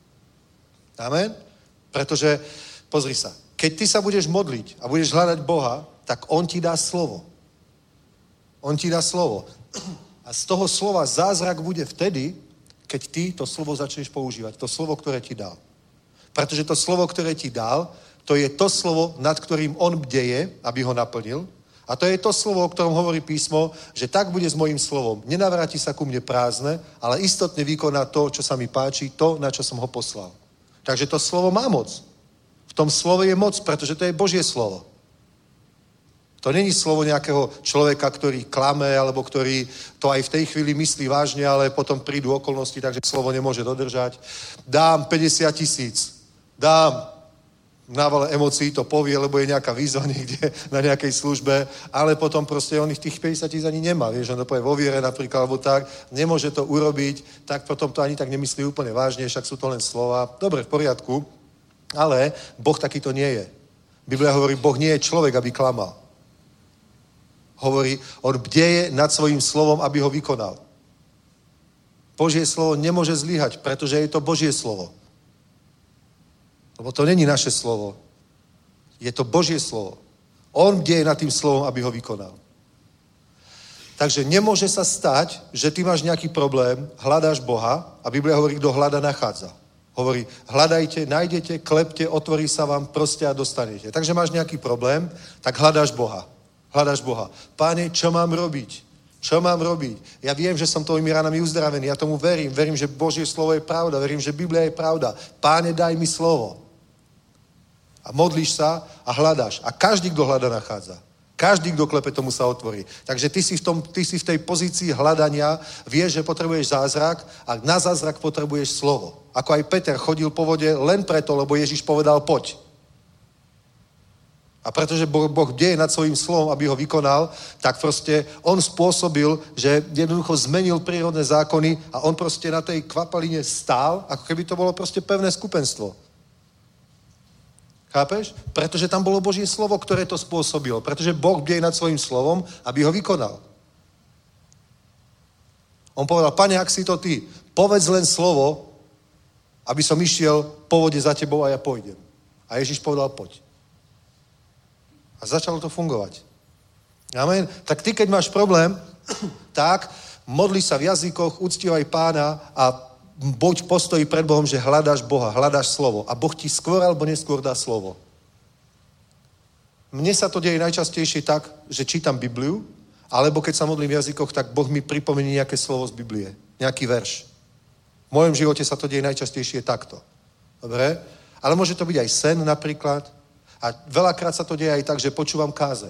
Amen? Pretože, pozri sa, keď ty sa budeš modliť a budeš hľadať Boha, tak on ti dá slovo. On ti dá slovo. A z toho slova zázrak bude vtedy, keď ty to slovo začneš používať. To slovo, ktoré ti dal. Pretože to slovo, ktoré ti dal, to je to slovo, nad ktorým on bdeje, aby ho naplnil. A to je to slovo, o ktorom hovorí písmo, že tak bude s mojím slovom. Nenavráti sa ku mne prázdne, ale istotne vykoná to, čo sa mi páči, to, na čo som ho poslal. Takže to slovo má moc. V tom slove je moc, pretože to je Božie slovo. To není slovo nejakého človeka, ktorý klame, alebo ktorý to aj v tej chvíli myslí vážne, ale potom prídu okolnosti, takže slovo nemôže dodržať. Dám 50 000. Dám. Návale emócií to povie, lebo je nejaká výzva niekde na nejakej službe, ale potom proste on tých 50 000 ani nemá. Vieš, on to povie vo viere napríklad, alebo tak, nemôže to urobiť, tak potom to ani tak nemyslí úplne vážne, však sú to len slova. Dobre, v poriadku, ale Boh takýto nie je. Biblia hovorí, Boh nie je človek, aby klamal. Hovorí, on bdeje nad svojím slovom, aby ho vykonal. Božie slovo nemôže zlyhať, pretože je to Božie slovo. Lebo to není naše slovo. Je to Božie slovo. On bdeje nad tým slovom, aby ho vykonal. Takže nemôže sa stať, že ty máš nejaký problém, hľadáš Boha a Biblia hovorí, kto hľada, nachádza. Hovorí, hľadajte, nájdete, klepte, otvorí sa vám, proste a dostanete. Takže máš nejaký problém, tak hľadáš Boha. Hľadáš Boha. Páne, čo mám robiť? Čo mám robiť? Ja viem, že som tvojimi ranami uzdravený. Ja tomu verím. Verím, že Božie slovo je pravda. Verím, že Biblia je pravda. Páne, daj mi slovo. A modlíš sa a hľadáš. A každý, kto hľada, nachádza. Každý, kto klepe, tomu sa otvorí. Takže ty si v tej pozícii hľadania, vieš, že potrebuješ zázrak a na zázrak potrebuješ slovo. Ako aj Peter chodil po vode len preto, lebo Ježiš povedal poď. A pretože Boh bdeje nad svojím slovom, aby ho vykonal, tak proste on spôsobil, že jednoducho zmenil prírodné zákony a on proste na tej kvapaline stál, ako keby to bolo proste pevné skupenstvo. Chápeš? Pretože tam bolo Božie slovo, ktoré to spôsobilo. Pretože Boh bdeje nad svojím slovom, aby ho vykonal. On povedal, Pane, ak si to ty, povedz len slovo, aby som išiel po vode za tebou a ja pôjdem. A Ježiš povedal, poď. A začalo to fungovať. Amen. Tak ty, keď máš problém, tak modli sa v jazykoch, uctívaj Pána a buď v postoji pred Bohom, že hľadáš Boha, hľadáš slovo. A Boh ti skôr alebo neskôr dá slovo. Mne sa to deje najčastejšie tak, že čítam Bibliu, alebo keď sa modlím v jazykoch, tak Boh mi pripomenie nejaké slovo z Biblie. Nejaký verš. V mojom živote sa to deje najčastejšie takto. Dobre? Ale môže to byť aj sen napríklad. A veľakrát sa to deje aj tak, že počúvam kázeň.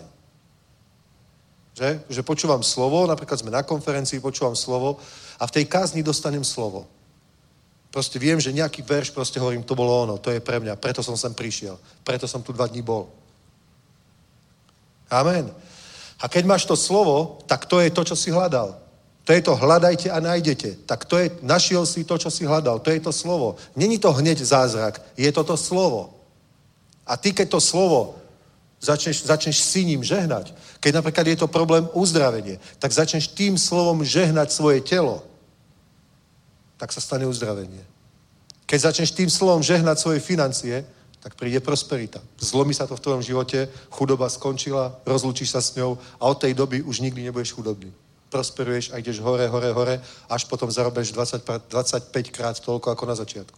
Že počúvam slovo, napríklad sme na konferencii, počúvam slovo a v tej kázni dostanem slovo. Proste viem, že nejaký verš, proste hovorím, to bolo ono, to je pre mňa, preto som sem prišiel, preto som tu 2 dní bol. Amen. A keď máš to slovo, tak to je to, čo si hľadal. To je to hľadajte a nájdete. Tak to je, našiel si to, čo si hľadal. To je to slovo. Není to hneď zázrak, je to slovo. A ty, keď to slovo začneš si ním žehnať, keď napríklad je to problém uzdravenie, tak začneš tým slovom žehnať svoje telo, tak sa stane uzdravenie. Keď začneš tým slovom žehnať svoje financie, tak príde prosperita. Zlomí sa to v tvojom živote, chudoba skončila, rozlúčiš sa s ňou a od tej doby už nikdy nebudeš chudobný. Prosperuješ a ideš hore, hore, hore, až potom zarobíš 25 krát toľko ako na začiatku.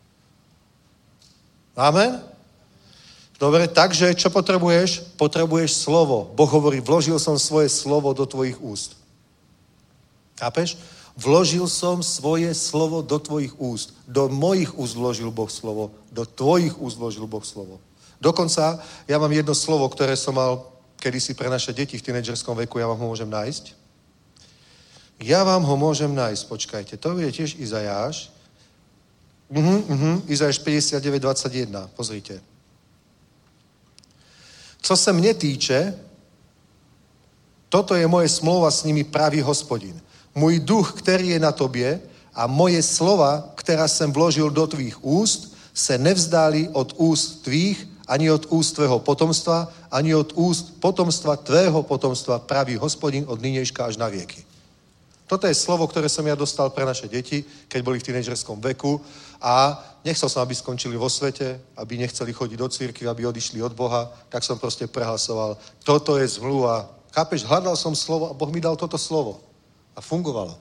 Amen? Dobre, takže čo potrebuješ? Potrebuješ slovo. Boh hovorí, vložil som svoje slovo do tvojich úst. Chápeš? Vložil som svoje slovo do tvojich úst. Do mojich úst vložil Boh slovo. Do tvojich úst vložil Boh slovo. Dokonca, ja mám jedno slovo, ktoré som mal kedysi pre naše deti v tínedžerskom veku, ja vám ho môžem nájsť. Ja vám ho môžem nájsť, počkajte. To je tiež Izajáš. Izajáš 59:21, pozrite. Co se mne týče, toto je moje smlouva s nimi, pravý Hospodin. Můj duch, který je na tobě a moje slova, která jsem vložil do tvých úst, se nevzdálí od úst tvých, ani od úst tvého potomstva, ani od úst potomstva tvého potomstva, praví Hospodin od nynějška až na věky. Toto je slovo, ktoré som ja dostal pre naše deti, keď boli v tínedžerskom veku a nechcel som, aby skončili vo svete, aby nechceli chodiť do cirkvi, aby odišli od Boha, tak som proste prehlasoval. Toto je zmluva. Chápeš, hľadal som slovo a Boh mi dal toto slovo. A fungovalo.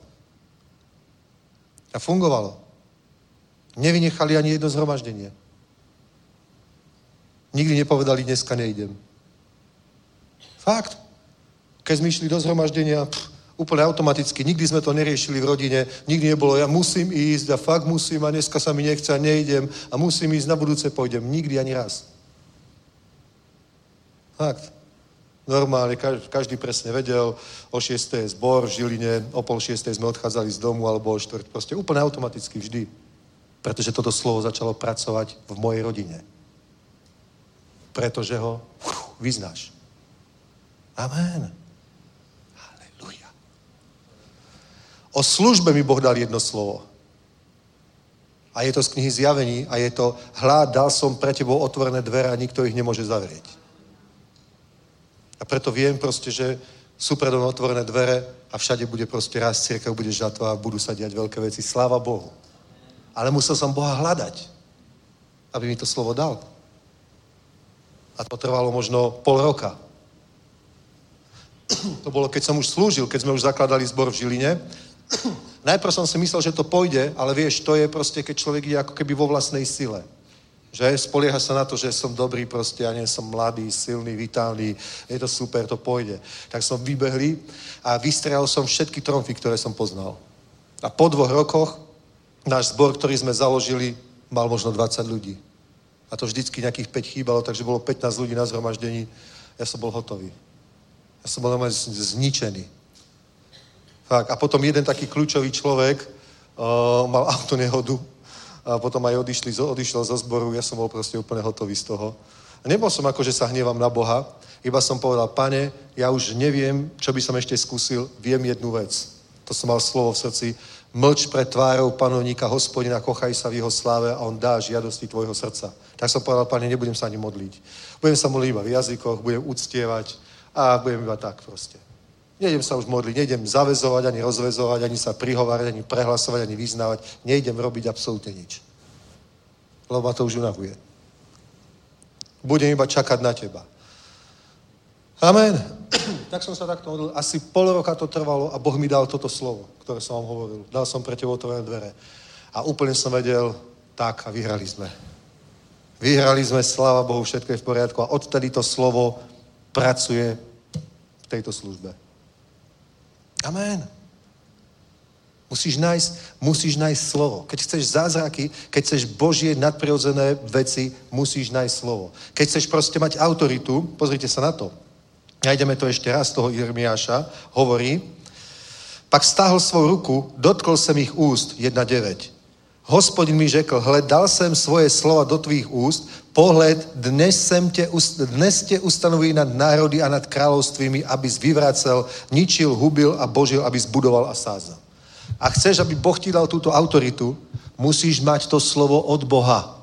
A fungovalo. Nevynechali ani jedno zhromaždenie. Nikdy nepovedali, dneska nejdem. Fakt. Keď sme išli do zhromaždenia, úplne automaticky, nikdy sme to neriešili v rodine, nikdy nebolo, ja musím ísť a fakt musím a dneska sa mi nechce a nejdem a musím ísť, na budúce pôjdem. Nikdy ani raz. Fakt. Normálne, každý presne vedel, o 6. je zbor v Žiline, o 5:30 sme odchádzali z domu alebo o 4. Proste úplne automaticky vždy. Pretože toto slovo začalo pracovať v mojej rodine. Pretože ho vyznáš. Amen. Halelujá. O službe mi Boh dal jedno slovo. A je to z knihy Zjavení a je to: hľa, dal som pre tebou otvorené dvere a nikto ich nemôže zavrieť. A preto viem proste, že sú predo mnou otvorené dvere a všade bude proste rásť cirkev, bude žatva a budú sa diať veľké veci. Sláva Bohu. Ale musel som Boha hľadať, aby mi to slovo dal. A to trvalo možno pol roka. To bolo, keď som už slúžil, keď sme už zakladali zbor v Žiline. Najprv som si myslel, že to pôjde, ale vieš, to je proste, keď človek je ako keby vo vlastnej sile. Že spolieha sa na to, že som dobrý proste, ja nie som mladý, silný, vitálny, je to super, to pôjde. Tak som vybehli a vystrelal som všetky tromfy, ktoré som poznal. A po 2 rokoch náš zbor, ktorý sme založili, mal možno 20 ľudí. A to vždycky nejakých 5 chýbalo, takže bolo 15 ľudí na zhromaždení. Ja som bol hotový. Ja som bol normálne zničený. Fakt. A potom jeden taký kľúčový človek mal autonehodu a potom aj odišiel zo zboru. Ja som bol proste úplne hotový z toho. A nebol som ako, že sa hnievam na Boha, iba som povedal: Pane, ja už neviem, čo by som ešte skúsil, viem jednu vec. To som mal slovo v srdci: mlč pred tvárou panovníka Hospodina, kochaj sa v jeho sláve a on dá žiadosti tvojho srdca. Tak som povedal: Pane, nebudem sa ani modliť. Budem sa modliť iba v jazykoch, budem uctievať a budem iba tak proste. Nejdem sa už modliť, nejdem zaväzovať, ani rozväzovať, ani sa prihovárať, ani prehlasovať, ani vyznávať. Nejdem robiť absolútne nič. Lebo ma to už unavuje. Budem iba čakať na teba. Amen. Tak som sa takto modlil. Asi pol roka to trvalo a Boh mi dal toto slovo, ktoré som vám hovoril. Dal som pre teba otvorené dvere. A úplne som vedel, tak, a vyhrali sme. Vyhrali sme, sláva Bohu, všetko je v poriadku. A odtedy to slovo pracuje v tejto službe. Amen. Musíš nájsť slovo. Keď chceš zázraky, keď chceš Božie nadprirodzené veci, musíš nájsť slovo. Keď chceš proste mať autoritu, pozrite sa na to. Najdeme to ešte raz z toho Jeremiáša, hovorí: pak stáhl svou ruku, dotkl jsem ich úst, 1:9. Hospodin mi řekl: hle, dal jsem svoje slova do tvých úst, pohled, dnes tě ustanoví nad národy a nad kráľovstvími, abys vyvracel, ničil, hubil a božil, abys budoval a sázal. A chceš, aby Boh ti dal túto autoritu, musíš mať to slovo od Boha.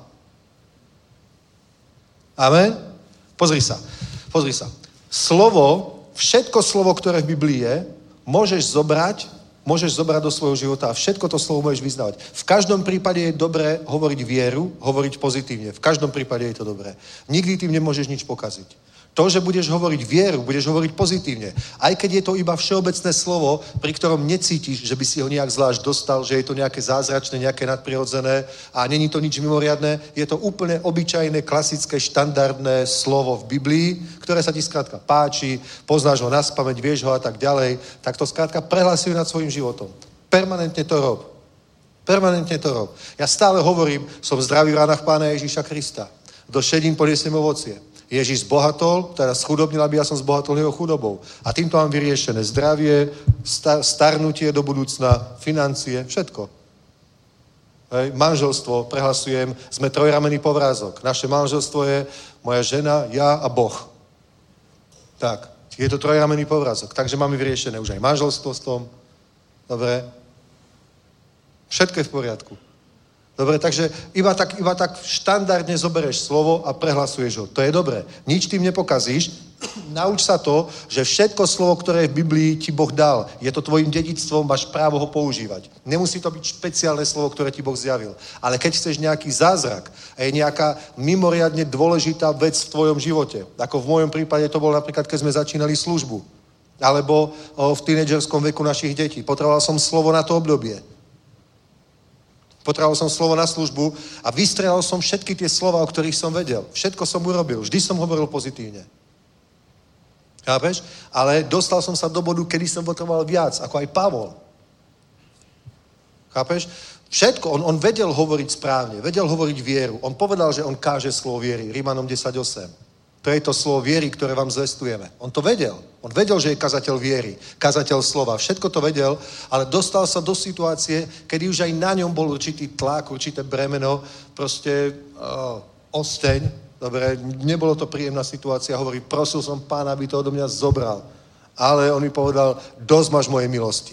Amen? Pozri sa. Slovo, všetko slovo, ktoré v Biblii je, môžeš zobrať do svojho života a všetko to slovo môžeš vyznávať. V každom prípade je dobré hovoriť vieru, hovoriť pozitívne. V každom prípade je to dobré. Nikdy tým nemôžeš nič pokaziť. To, že budeš hovoriť vieru, budeš hovoriť pozitívne. Aj keď je to iba všeobecné slovo, pri ktorom necítiš, že by si ho nejak zvlášť dostal, že je to nejaké zázračné, nejaké nadprirodzené a není to nič mimoriadne, je to úplne obyčajné, klasické, štandardné slovo v Biblii, ktoré sa ti skrátka páči, poznáš ho naspamäť, vieš ho a tak ďalej, tak to skrátka prehlasuj nad svojím životom. Permanentne to rob. Ja stále hovorím, som zdravý v ránach Pána Ježíša Krista. Do šedín poniesiem ovocie. Ježíš zbohatol, teda schudobnil, aby ja som zbohatol jeho chudobou. A týmto mám vyriešené zdravie, starnutie do budúcna, financie, všetko. Hej. Manželstvo, prehlasujem, sme trojramenný povrázok. Naše manželstvo je moja žena, ja a Boh. Tak, je to trojramenný povrázok. Takže máme vyriešené už aj manželstvo s tom. Dobre. Všetko je v poriadku. Dobre, takže iba tak štandardne zoberieš slovo a prehlasuješ ho. To je dobré. Nič tým nepokazíš. Nauč sa to, že všetko slovo, ktoré je v Biblii, ti Boh dal. Je to tvojim dedičstvom, máš právo ho používať. Nemusí to byť špeciálne slovo, ktoré ti Boh zjavil. Ale keď chceš nejaký zázrak a je nejaká mimoriadne dôležitá vec v tvojom živote, ako v mojom prípade to bolo napríklad, keď sme začínali službu, alebo v tínedžerskom veku našich detí. Potreboval som slovo na to obdobie. Potreboval som slovo na službu a vystrelal som všetky tie slova, o ktorých som vedel. Všetko som urobil. Vždy som hovoril pozitívne. Chápeš? Ale dostal som sa do bodu, kedy som potreboval viac, ako aj Pavol. Chápeš? Všetko. On vedel hovoriť správne, vedel hovoriť vieru. On povedal, že on káže slovo viery. Rímanom 10:8. To je to slovo viery, ktoré vám zvestujeme. On to vedel. On vedel, že je kazateľ viery, kazateľ slova. Všetko to vedel, ale dostal sa do situácie, kedy už aj na ňom bol určitý tlak, určité bremeno, proste osteň. Dobre, nebolo to príjemná situácia. Hovorí, prosil som Pána, aby to odo mňa zobral. Ale on mi povedal, dosť máš mojej milosti.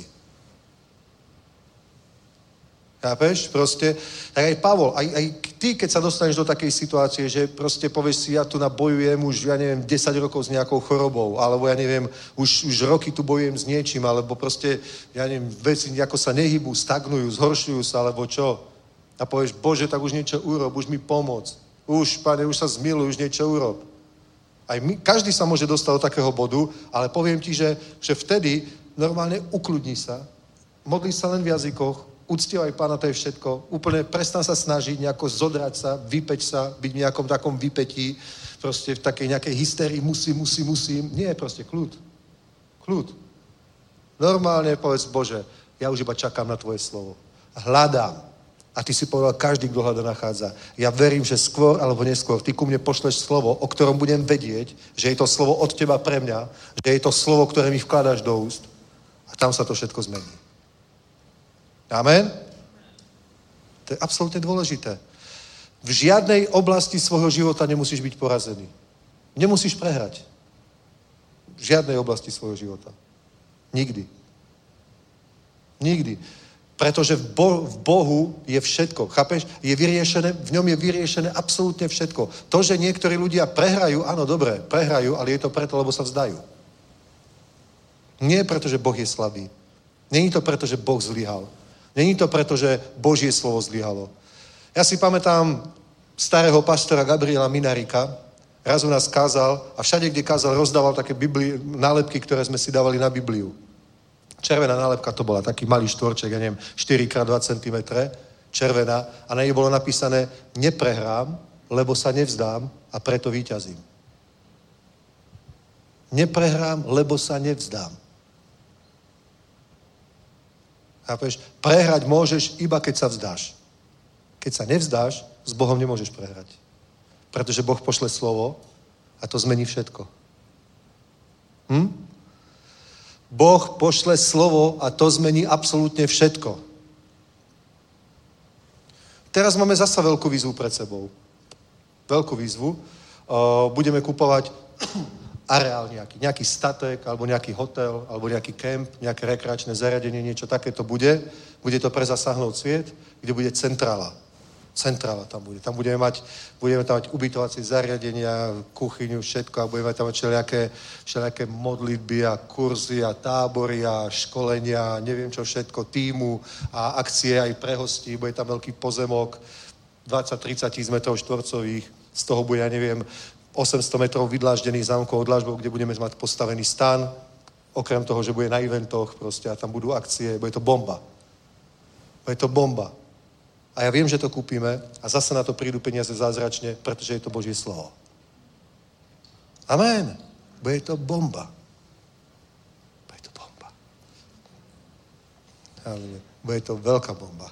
Chápeš? Proste, tak aj Pavol, aj ty, keď sa dostaneš do takej situácie, že proste povieš si, ja tu bojujem už, 10 rokov s nejakou chorobou, alebo už roky tu bojujem s niečím, alebo proste, veci nejako sa nehybú, stagnujú, zhoršujú sa, alebo čo? A povieš, Bože, tak už niečo urob, už mi pomoc. Už, Pane, už sa zmiluj, už niečo urob. Každý sa môže dostať do takého bodu, ale poviem ti, že vtedy normálne ukludni sa, modli sa len v jazykoch, uctievaj Pána, to je všetko. Úplne prestan sa snažiť nejako zodrať sa, vypeť sa, byť v nejakom takom vypetí, proste v takej nejakej hysterii, musím. Nie, proste kľud. Kľud. Normálne povedz, Bože, ja už iba čakám na tvoje slovo. Hľadám. A ty si povedal, každý, kto hľada, nachádza. Ja verím, že skôr alebo neskôr ty ku mne pošleš slovo, o ktorom budem vedieť, že je to slovo od teba pre mňa, že je to slovo, ktoré mi vkladáš do úst. A tam sa to všetko zmení. Amen? To je absolútne dôležité. V žiadnej oblasti svojho života nemusíš byť porazený. Nemusíš prehrať. V žiadnej oblasti svojho života. Nikdy. Nikdy. Pretože v Bohu je všetko. Chápeš? Je vyriešené, v ňom je vyriešené absolútne všetko. To, že niektorí ľudia prehrajú, áno, dobre, prehrajú, ale je to preto, lebo sa vzdajú. Nie preto, že Boh je slabý. Není to preto, že Boh zlyhal. Není to preto, že Božie slovo zlyhalo. Ja si pamätám starého pastora Gabriela Minarika. Raz u nás kázal a všade, kde kázal, rozdával také nálepky, ktoré sme si dávali na Bibliu. Červená nálepka to bola, taký malý štvorček, 4x2 cm, červená, a na nej bolo napísané, neprehrám, lebo sa nevzdám a preto víťazím. Neprehrám, lebo sa nevzdám. Chápeš? Prehrať môžeš iba, keď sa vzdáš. Keď sa nevzdáš, s Bohom nemôžeš prehrať. Pretože Boh pošle slovo a to zmení všetko. Boh pošle slovo a to zmení absolútne všetko. Teraz máme zasa veľkú výzvu pred sebou. Veľkú výzvu. Budeme kupovať areál nejaký statek, alebo nejaký hotel, alebo nejaký kemp, nejaké rekreačné zariadenie, niečo takéto bude. Bude to pre zasáhnout sviet, kde bude centrála. Centrála tam bude. Tam budeme tam mať ubytovacie zariadenia, kuchyňu, všetko a budeme tam mať všelijaké modlitby a kurzy a tábory a školenia, neviem čo všetko, tímu a akcie aj pre hostí. Bude tam veľký pozemok, 20-30 tisíc metrov štvorcových, z toho bude, 800 metrov vydláždených zámkov od dlážbou, kde budeme mať postavený stan, okrem toho, že bude na eventoch proste a tam budú akcie, bude to bomba. Bude to bomba. A ja viem, že to kúpime a zase na to prídu peniaze zázračne, pretože je to Božie slovo. Amen. Bude to bomba. Bude to bomba. Bude to veľká bomba.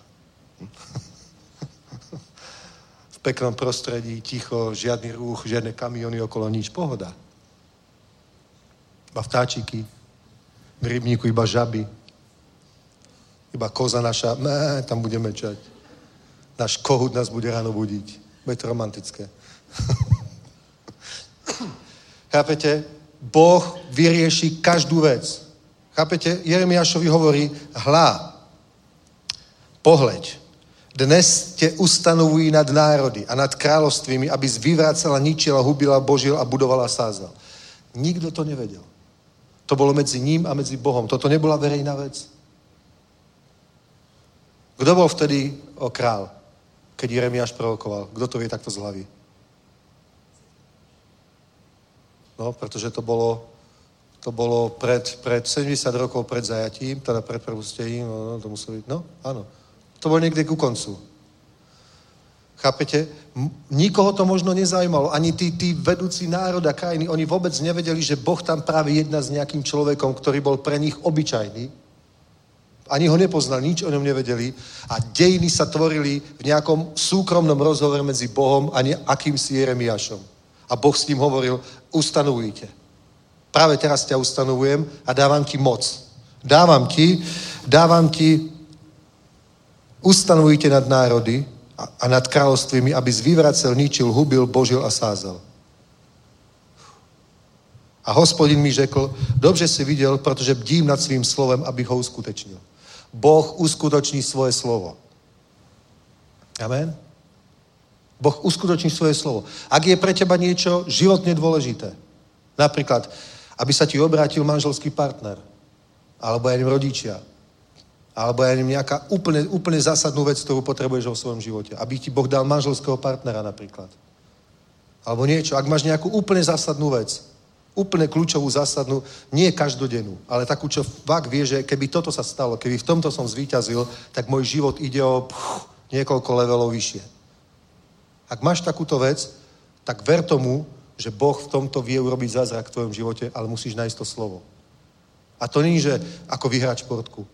V peknom prostredí, ticho, žiadny rúch, žiadne kamiony okolo, nič, pohoda. Iba vtáčiky, v rybníku iba žaby, iba koza naša, tam budeme čať. Náš kohút nás bude ráno budiť. Bude to romantické. Chápete? Boh vyrieši každú vec. Chápete? Jeremiášovi hovorí, pohľaď, Dnes tě ustanovují nad národy a nad královstvími, abys vyvracela, ničila, hubila, božil a budovala, sázal. Nikdo to nevedel. To bolo medzi ním a medzi Bohom. Toto nebola verejná vec. Kdo bol vtedy král, keď Jeremiáš prorokoval? Kdo to vie takto z hlavy? No, pretože to bolo pred 70 rokov pred zajatím, teda pred prepustením, no, to muselo byť, no, áno. To bolo niekde ku koncu. Chápete? Nikoho to možno nezaujímalo. Ani tí vedúci národa, krajiny, oni vôbec nevedeli, že Boh tam práve jedná s nejakým človekom, ktorý bol pre nich obyčajný. Ani ho nepoznali, nič o ňom nevedeli. A dejiny sa tvorili v nejakom súkromnom rozhovore medzi Bohom a akýmsi Jeremiášom. A Boh s ním hovoril, ustanovujte. Práve teraz ťa ustanovujem a dávam ti moc. Dávam ti, ustanovujte nad národy a nad kráľovstvými, abys vyvracel, ničil, hubil, božil a sázal. A Hospodin mi řekl, dobře si viděl, protože bdím nad svým slovem, abych ho uskutečnil. Boh uskutoční svoje slovo. Amen? Boh uskutoční svoje slovo. Ak je pre teba niečo životne dôležité, napríklad, aby sa ti obrátil manželský partner, alebo ja neviem, rodičia, alebo ja neviem, nejaká úplne zásadnú vec, ktorú potrebuješ vo svojom živote. Aby ti Boh dal manželského partnera napríklad. Alebo niečo, ak máš nejakú úplne zásadnú vec, úplne kľúčovú zásadnú, nie každodennú, ale takú, čo fakt vie, že keby toto sa stalo, keby v tomto som zvíťazil, tak môj život ide o niekoľko levelov vyššie. Ak máš takúto vec, tak ver tomu, že Boh v tomto vie urobiť zázrak v tvojom živote, ale musíš nájsť to slovo. A to nie, že ako vyhrať športku.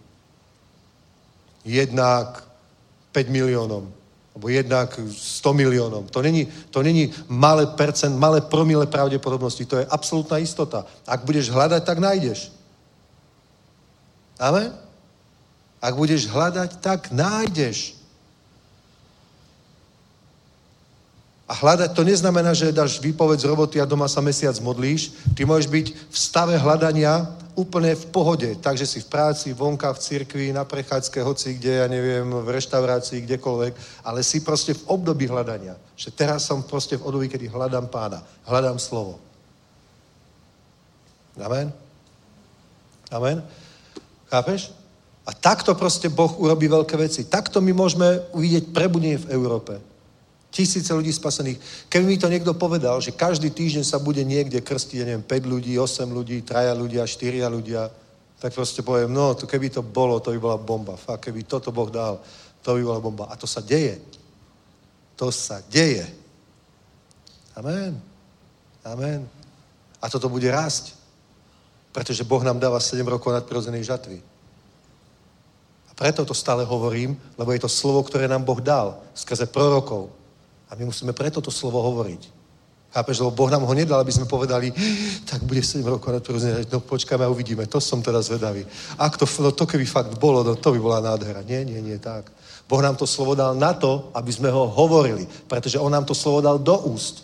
Jednak 5 miliónom, alebo jednak 100 miliónom. To není malé promile pravdepodobnosti, to je absolútna istota. Ak budeš hľadať, tak nájdeš. Amen? Ak budeš hľadať, tak nájdeš. A hľadať to neznamená, že dáš výpoveď z roboty a doma sa mesiac modlíš. Ty môžeš byť v stave hľadania úplne v pohode. Takže si v práci, vonka, v cirkvi, na prechádzke, hoci kde, ja neviem, v reštaurácii, kdekoľvek. Ale si proste v období hľadania. Že teraz som proste v období, kedy hľadám Pána. Hľadám slovo. Amen? Amen? Chápeš? A takto proste Boh urobí veľké veci. Takto my môžeme uvidieť prebudenie v Európe. Tisíce ľudí spasených. Keby mi to niekto povedal, že každý týždeň sa bude niekde krstiť, ja neviem, 5 ľudí, 8 ľudí, 3 ľudia, 4 ľudia, tak proste poviem, no, to keby to bolo, to by bola bomba. Fakt, keby toto Boh dal, to by bola bomba. A to sa deje. To sa deje. Amen. Amen. A toto bude rásť. Pretože Boh nám dáva 7 rokov nadprirodzenej žatvy. A preto to stále hovorím, lebo je to slovo, ktoré nám Boh dal skrze prorokov. A my musíme preto to slovo hovoriť. Chápeš, lebo Boh nám ho nedal, aby sme povedali, tak bude 7 rokov nadprirodzenej žatvy, no počkáme a uvidíme, to som teda zvedavý. Ak to keby fakt bolo, no to by bola nádhera. Nie, tak. Boh nám to slovo dal na to, aby sme ho hovorili, pretože on nám to slovo dal do úst.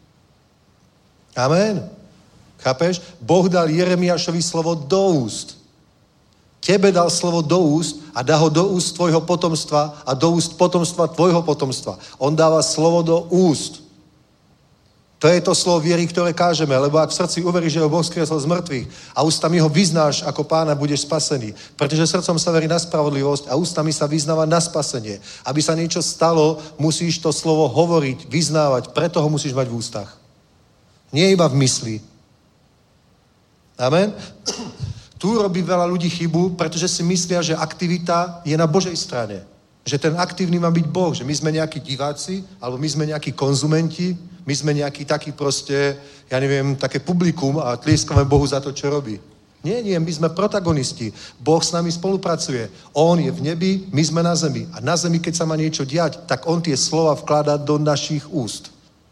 Amen. Chápeš? Boh dal Jeremiášovi slovo do úst. Tebe dal slovo do úst a dá ho do úst tvojho potomstva a do úst potomstva tvojho potomstva. On dáva slovo do úst. To je to slovo viery, ktoré kážeme, lebo ak v srdci uveríš, že ho Boh skriesol z mŕtvych a ústami ho vyznáš ako Pána, budeš spasený. Pretože srdcom sa verí na spravodlivosť a ústami sa vyznáva na spasenie. Aby sa niečo stalo, musíš to slovo hovoriť, vyznávať, preto ho musíš mať v ústach. Nie iba v mysli. Amen? Tu robí veľa ľudí chybu, pretože si myslia, že aktivita je na Božej strane. Že ten aktívny má byť Boh, že my sme nejakí diváci, alebo my sme nejakí konzumenti, my sme nejakí takí proste, ja neviem, také publikum a tlieskame Bohu za to, čo robí. Nie, my sme protagonisti. Boh s nami spolupracuje. On je v nebi, my sme na zemi. A na zemi, keď sa má niečo diať, tak on tie slova vkladá do našich úst.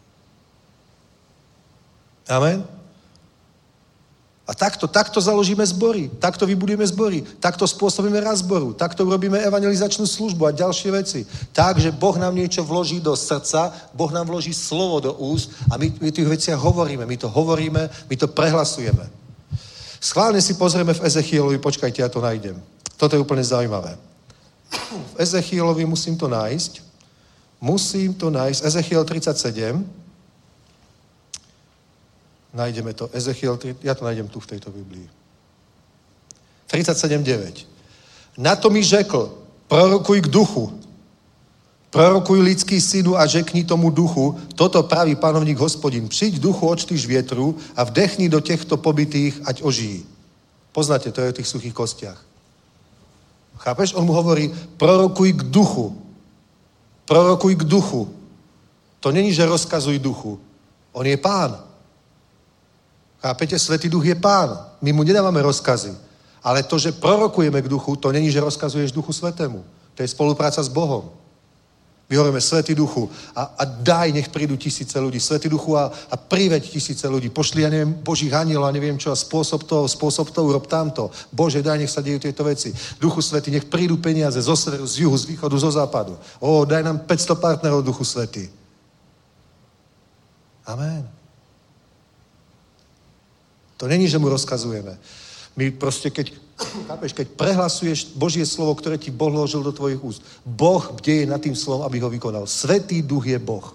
Amen? A takto založíme zbory, takto vybudujeme zbory, takto spôsobíme rast zboru, takto urobíme evangelizačnú službu a ďalšie veci. Takže Boh nám niečo vloží do srdca, Boh nám vloží slovo do úst a my tých veciach hovoríme, my to prehlasujeme. Schválne si pozrieme v Ezechielovi, počkajte, ja to nájdem. Toto je úplne zaujímavé. v Ezechielovi, musím to nájsť. Ezechiel 37. Nájdeme to. Ja to nájdem tu v tejto Biblii. 37.9. Na to mi řekl, prorokuj k duchu. Prorokuj lidský synu a řekni tomu duchu, toto praví panovník Hospodin. Přijď duchu, odštýš větru a vdechni do těchto pobytých, ať ožijí. Poznáte, to je o tých suchých kostiach. Chápeš? On mu hovorí, prorokuj k duchu. Prorokuj k duchu. To není, že rozkazuj duchu. On je pán. Chápete? Svätý duch je pán. My mu nedávame rozkazy. Ale to, že prorokujeme k duchu, to není, že rozkazuješ duchu svätému. To je spolupráca s Bohom. My hovoríme, Svätý duchu a daj, nech prídu 1000 ľudí. Svätý duchu a priveď 1000 ľudí. Pošli, ja neviem, Božích anielov a neviem čo, a spôsob to, urob tamto. Bože, daj, nech sa dejú tieto veci. Duchu Svätý, nech prídu peniaze zo severu, z juhu, z východu, zo západu. Daj nám 500 partnerov, Duchu Svätý. Amen. To není, že mu rozkazujeme. My proste, keď prehlasuješ Božie slovo, ktoré ti Boh vložil do tvojich úst, Boh bdeje nad tým slovom, aby ho vykonal. Svätý duch je Boh.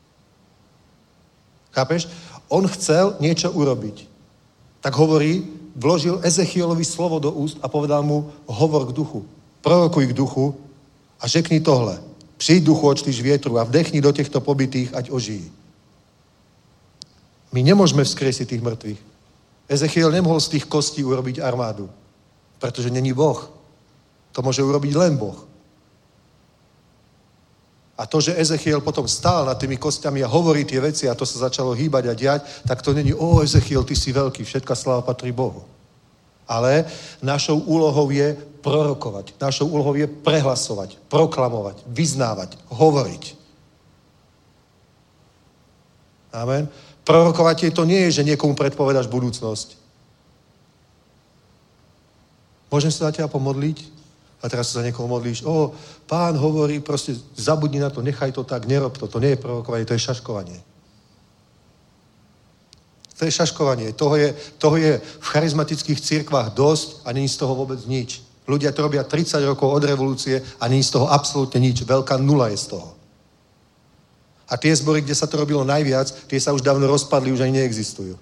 Chápeš? On chcel niečo urobiť. Tak hovorí, vložil Ezechielovi slovo do úst a povedal mu, hovor k duchu. Prorokuj k duchu a řekni tohle. Přijď duchu, odštýš vietru a vdechni do těchto pobytých, ať ožijí. My nemôžeme vzkriesiť tých mŕtvych. Ezechiel nemohol z tých kostí urobiť armádu, pretože není Boh. To môže urobiť len Boh. A to, že Ezechiel potom stál nad tými kostiami a hovorí tie veci a to sa začalo hýbať a diať, tak to není, Ezechiel, ty si veľký, všetka sláva patrí Bohu. Ale našou úlohou je prorokovať. Našou úlohou je prehlasovať, proklamovať, vyznávať, hovoriť. Amen. Prorokovať to nie je, že niekomu predpovedáš budúcnosť. Môžem sa za teba pomodliť? A teraz sa za niekoho modlíš. Pán hovorí, proste zabudni na to, nechaj to tak, nerob to. To nie je prorokovanie, to je šaškovanie. To je šaškovanie. Toho je v charizmatických cirkvách dosť a není z toho vôbec nič. Ľudia to robia 30 rokov od revolúcie a není z toho absolútne nič. Veľká nula je z toho. A tie zbory, kde sa to robilo najviac, tie sa už dávno rozpadli, už ani neexistujú.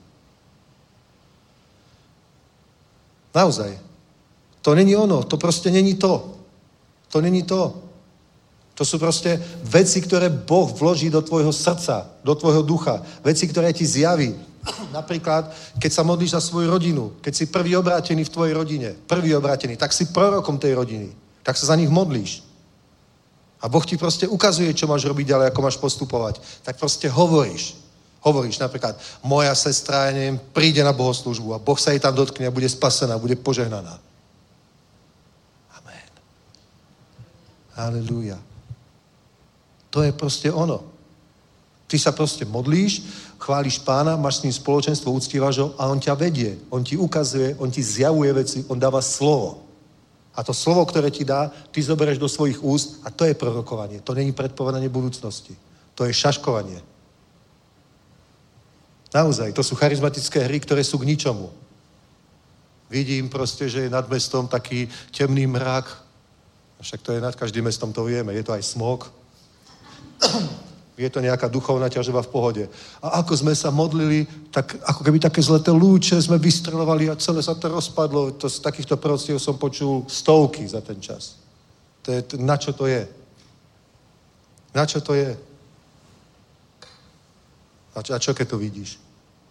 Naozaj. To není ono, to proste není to. To není to. To sú proste veci, ktoré Boh vloží do tvojho srdca, do tvojho ducha. Veci, ktoré ti zjaví. Napríklad, keď sa modlíš za svoju rodinu, keď si prvý obrátený v tvojej rodine, tak si prorokom tej rodiny, tak sa za nich modlíš. A Boh ti proste ukazuje, čo máš robiť ďalej, ako máš postupovať. Tak proste hovoríš. Hovoríš napríklad, moja sestra, ja neviem, príde na bohoslúžbu a Boh sa jej tam dotkne a bude spasená, bude požehnaná. Amen. Halelúja. To je proste ono. Ty sa proste modlíš, chváliš Pána, máš s ním spoločenstvo, uctívaš ho a on ťa vedie. On ti ukazuje, on ti zjavuje veci, on dáva slovo. A to slovo, ktoré ti dá, ty zoberieš do svojich úst a to je prorokovanie. To není predpovedanie budúcnosti. To je šaškovanie. Naozaj, to sú charizmatické hry, ktoré sú k ničomu. Vidím proste, že je nad mestom taký temný mrak. Však to je nad každým mestom, to vieme. Je to aj smog. Je to nejaká duchovná ťažoba v pohode. A ako sme sa modlili, tak ako keby také zlaté lúče sme vystrelovali a celé sa to rozpadlo. Z takýchto prostiev som počul stovky za ten čas. Na čo to je? Na čo to je? A čo keď to vidíš?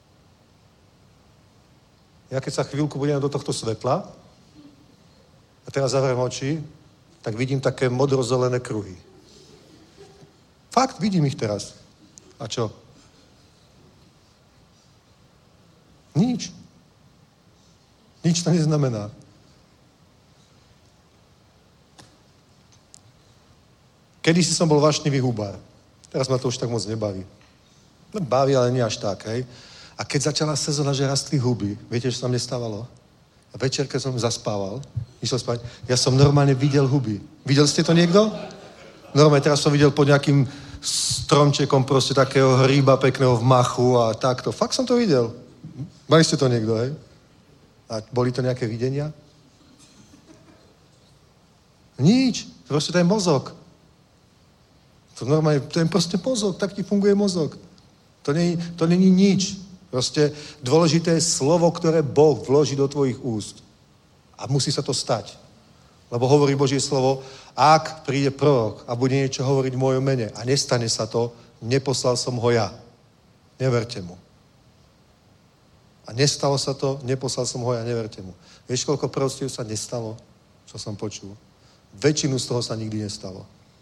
Ja keď sa chvíľku budem do tohto svetla a teraz zavriem oči, tak vidím také modrozelené kruhy. Fakt, vidím ich teraz. A čo? Nič. Nič to neznamená. Kedysi som bol vášnivý hubár. Teraz ma to už tak moc nebaví. No, baví, ale nie až tak, hej. A keď začala sezóna, že rastli huby, viete, čo sa mne stávalo? A večer, keď som zaspával, išiel spať, ja som normálne videl huby. Videli ste to niekto? Normálne, teraz som videl pod nejakým stromčekom proste takého hríba pekného v machu a takto. Fakt som to videl. Mali ste to niekto, hej? A boli to nejaké videnia? Nič. Proste to je mozog. To normálne, to je proste mozog, tak ti funguje mozog. To není nič. Proste dôležité je slovo, ktoré Boh vloží do tvojich úst. A musí sa to stať. Lebo hovorí Božie slovo, ak príde prorok a bude niečo hovoriť v mojom mene a nestane sa to, neposlal som ho ja. Neverte mu. A nestalo sa to, neposlal som ho ja, neverte mu. Vieš, koľko proroctiev sa nestalo, čo som počul? Väčšinu z toho sa nikdy nestalo.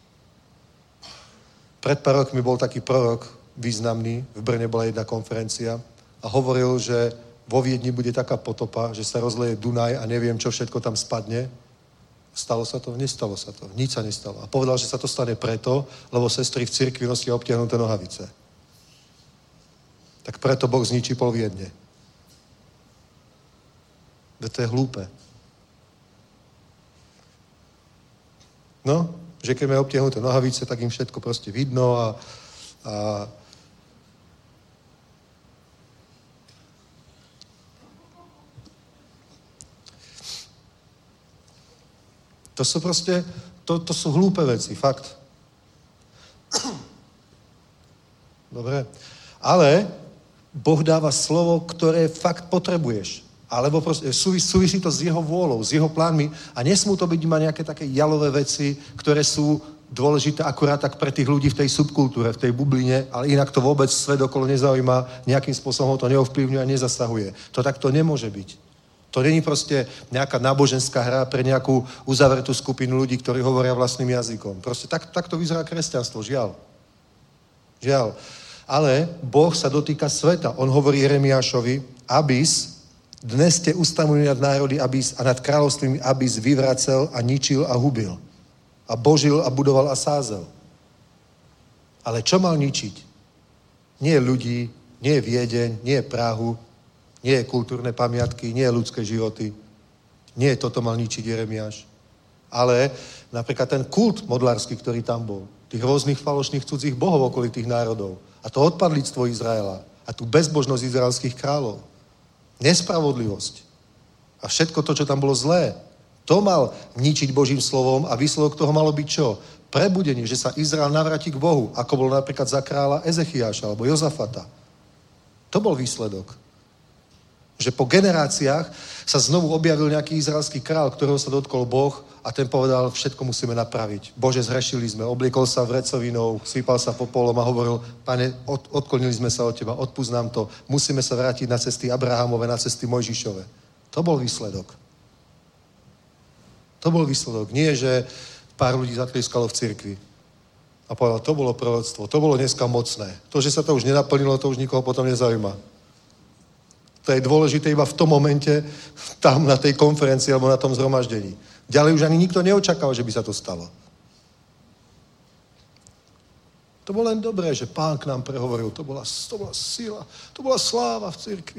Pred pár rokmi bol taký prorok významný, v Brne bola jedna konferencia a hovoril, že vo Viedni bude taká potopa, že sa rozleje Dunaj a neviem, čo všetko tam spadne. Stalo sa to? Nestalo sa to. Nič sa nestalo. A povedal, že sa to stane preto, lebo sestry v cirkvi nosia obtiahnuté nohavice. Tak preto Boh zničí pol Viedne. Veď to je hlúpe. No, že keď majú obtiahnuté nohavice, tak im všetko proste vidno a to sú proste, to sú hlúpe veci, fakt. Dobre. Ale Boh dáva slovo, ktoré fakt potrebuješ. Alebo proste súvisí to s jeho vôľou, s jeho plánmi a nesmú to byť iba nejaké také jalové veci, ktoré sú dôležité akurát tak pre tých ľudí v tej subkultúre, v tej bubline, ale inak to vôbec svet okolo nezaujíma, nejakým spôsobom ho to neovplyvňuje a nezasahuje. To takto nemôže byť. To není proste nejaká náboženská hra pre nejakú uzavretú skupinu ľudí, ktorí hovoria vlastným jazykom. Proste takto vyzerá kresťanstvo, žiaľ. Žiaľ. Ale Boh sa dotýka sveta. On hovorí Jeremiášovi, abys, dnes ste ustanovili nad národy a nad kráľovstvím, abys vyvracel a ničil a hubil. A božil a budoval a sázel. Ale čo mal ničiť? Nie ľudí, nie Viedeň, nie Prahu, nie kultúrne pamiatky, nie ľudské životy. Nie toto mal ničiť Jeremiáš. Ale napríklad ten kult modlársky, ktorý tam bol. Tých rôznych falošných cudzích bohov okolitých národov. A to odpadlíctvo Izraela. A tú bezbožnosť izraelských kráľov. Nespravodlivosť. A všetko to, čo tam bolo zlé. To mal ničiť Božím slovom a výsledok toho malo byť čo? Prebudenie, že sa Izrael navráti k Bohu. Ako bolo napríklad za kráľa Ezechiáša alebo Jozafata. To bol výsledok. Že po generáciách sa znovu objavil nejaký izraelský král, ktorého sa dotkol Boh a ten povedal, všetko musíme napraviť. Bože, zhrešili sme, obliekol sa vrecovinou, sypal sa popolom a hovoril, Pane, odklonili sme sa od teba, odpusť nám to, musíme sa vrátiť na cesty Abrahamove, na cesty Mojžišove. To bol výsledok. To bol výsledok. Nie, že pár ľudí zatlieskalo v cirkvi a povedal, to bolo proroctvo, to bolo dneska mocné. To, že sa to už nenaplnilo, to už nikoho potom nezaujíma. To je dôležité iba v tom momente, tam na tej konferencii alebo na tom zhromaždení. Ďalej už ani nikto neočakal, že by sa to stalo. To bolo len dobré, že Pán k nám prehovoril. To bola sila, to bola sláva v cirkvi.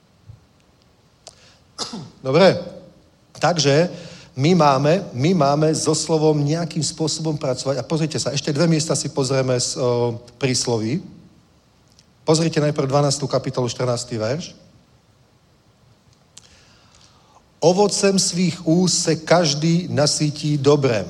Dobre, takže my máme so slovom nejakým spôsobom pracovať. A pozrite sa, ešte 2 miesta si pozrieme z prísloví. Pozrite najprv 12. kapitolu, 14. verš. Ovocem svých úst se každý nasytí dobrem.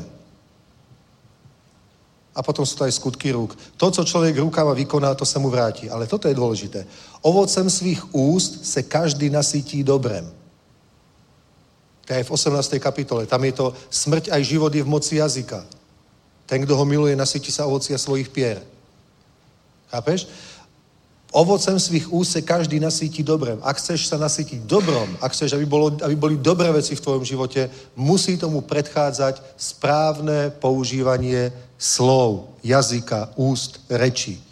A potom sú to aj skutky rúk. To, co človek rukama vykoná, to sa mu vráti. Ale toto je dôležité. Ovocem svých úst se každý nasytí dobrem. To je v 18. kapitole. Tam je to smrť aj život je v moci jazyka. Ten, kdo ho miluje, nasytí sa ovocia svojich pier. Chápeš? Ovocem svých úst se každý nasytí dobrem. Ak chceš sa nasytiť dobrom, ak chceš, aby boli dobré veci v tvojom živote, musí tomu predchádzať správne používanie slov, jazyka, úst, reči.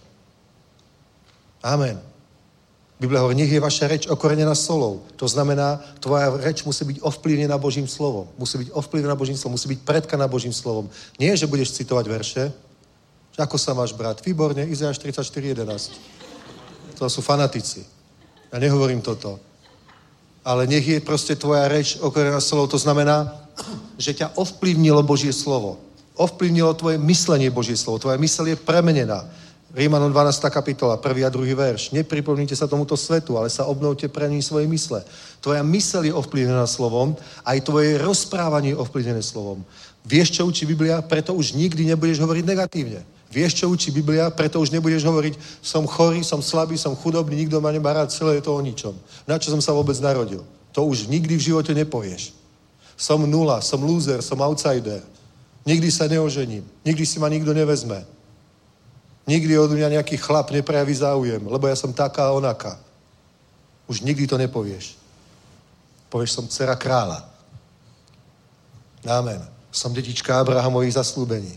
Amen. Biblia hovorí, nech je vaša reč okorenená solou. To znamená, tvoja reč musí byť ovplyvnená Božím slovom. Musí byť ovplyvnená Božím slovom, musí byť predkaná Božím slovom. Nie, že budeš citovať verše, že ako sa máš brat? Výborne, Izajáš 34:11. To sú fanatici. Ja nehovorím toto. Ale nech je proste tvoja reč okorenená solou. To znamená, že ťa ovplyvnilo Božie slovo. Ovplyvnilo tvoje myslenie Božie slovo. Tvoja myseľ je premenená. Rímanom 12. kapitola, 1. a 2. verš. Nepripomnite sa tomuto svetu, ale sa obnovte pre ním svoje mysle. Tvoja myseľ je ovplyvnená slovom, aj tvoje rozprávanie je ovplyvnené slovom. Vieš, čo učí Biblia? Preto už nikdy nebudeš hovoriť negatívne. Vieš, čo učí Biblia? Preto už nebudeš hovoriť, som chorý, som slabý, som chudobný, nikto ma nemá rád, celé je to o ničom. Na čo som sa vôbec narodil? To už nikdy v živote nepovieš. Som nula, som loser, som outsider. Nikdy sa neožením. Nikdy si ma nikto nevezme. Nikdy od mňa nejaký chlap neprejaví záujem, lebo ja som taká a onaká. Už nikdy to nepovieš. Povieš, som dcera kráľa. Amen. Som detička Abrahamových zaslúbení.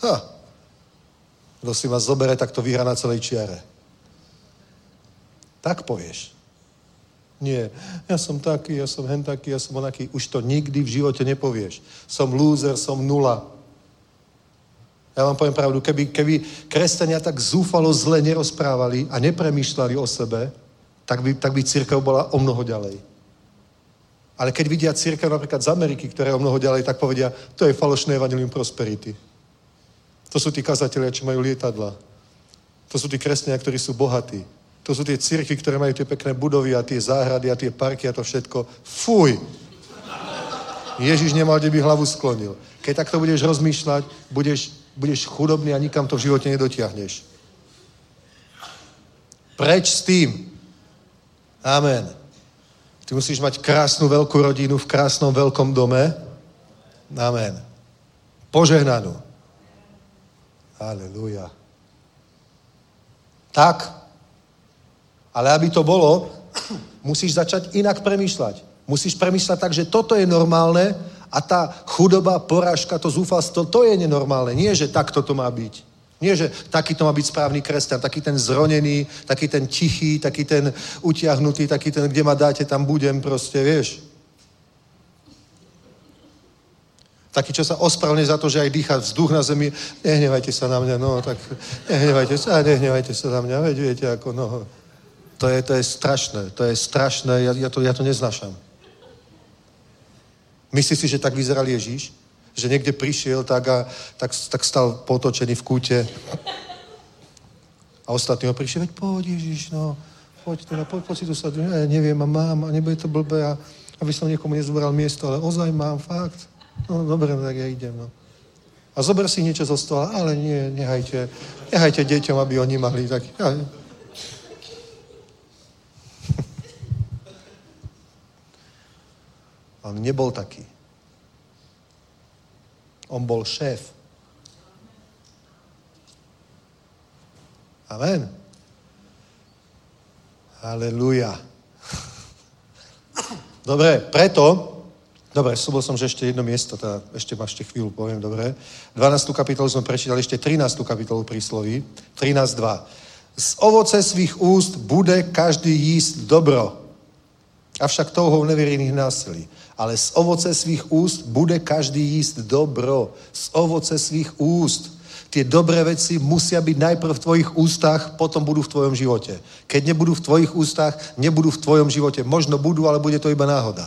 Kto si ma zobere, tak to vyhrá na celej čiare. Tak povieš. Nie, ja som taký, ja som hen taký, ja som onaký. Už to nikdy v živote nepovieš. Som loser, som nula. Ja vám poviem pravdu, keby kresťania tak zúfalo zle nerozprávali a nepremýšľali o sebe, tak by cirkev bola o mnoho ďalej. Ale keď vidia cirkev napríklad z Ameriky, ktorá je o mnoho ďalej, tak povedia, to je falošné evanjelium prosperity. To sú tí kazatelia, čo majú lietadla. To sú tí kresťania, ktorí sú bohatí. To sú tie cirkvi, ktoré majú tie pekné budovy a tie záhrady a tie parky a to všetko. Fuj! Ježiš nemal, kde by hlavu sklonil. Keď takto budeš rozmýšľať, budeš chudobný a nikam to v živote nedotiahneš. Preč s tým. Amen. Ty musíš mať krásnu veľkú rodinu v krásnom veľkom dome. Amen. Požehnanú. Halelúja. Tak, ale aby to bolo, musíš začať inak premýšľať. Musíš premýšľať tak, že toto je normálne a tá chudoba, porážka, to zúfalstvo, to je nenormálne. Nie, že takto to má byť. Nie, že taký to má byť správny kresťan, taký ten zronený, taký ten tichý, taký ten utiahnutý, taký ten, kde ma dáte, tam budem proste, vieš. Taký, čo sa ospravedlňuje za to, že aj dýcha vzduch na zemi. Nehnevajte sa na mňa, no, tak nehnevajte sa na mňa, veď viete, ako, no. To je strašné, ja to neznášam. Myslíš si, že tak vyzeral Ježíš? Že niekde prišiel tak stal potočený v kúte a ostatní ho prišiel, veď poď Ježíš, no, poď si tu sa, neviem, a mám, a nebude to blbé, a aby som niekomu nezobral miesto, ale ozaj mám, fakt. No, dobre, tak ja idem, no. A zober si niečo zo stola, ale nie, nehajte deťom, aby oni mali tak. On nebol taký. On bol šéf. Amen. Halelúja. Dobre, slúbil som, že ešte jedno miesto, teda ešte chvíľu poviem, dobre. 12. kapitolu sme prečítali, ešte 13. kapitolu prísloví, 13.2. Z ovoce svých úst bude každý jíst dobro, avšak touhou nevěrných násilí. Ale z ovoce svých úst bude každý jíst dobro. Z ovoce svých úst. Tie dobré veci musia byť najprv v tvojich ústach, potom budú v tvojom živote. Keď nebudú v tvojich ústach, nebudú v tvojom živote. Možno budú, ale bude to iba náhoda.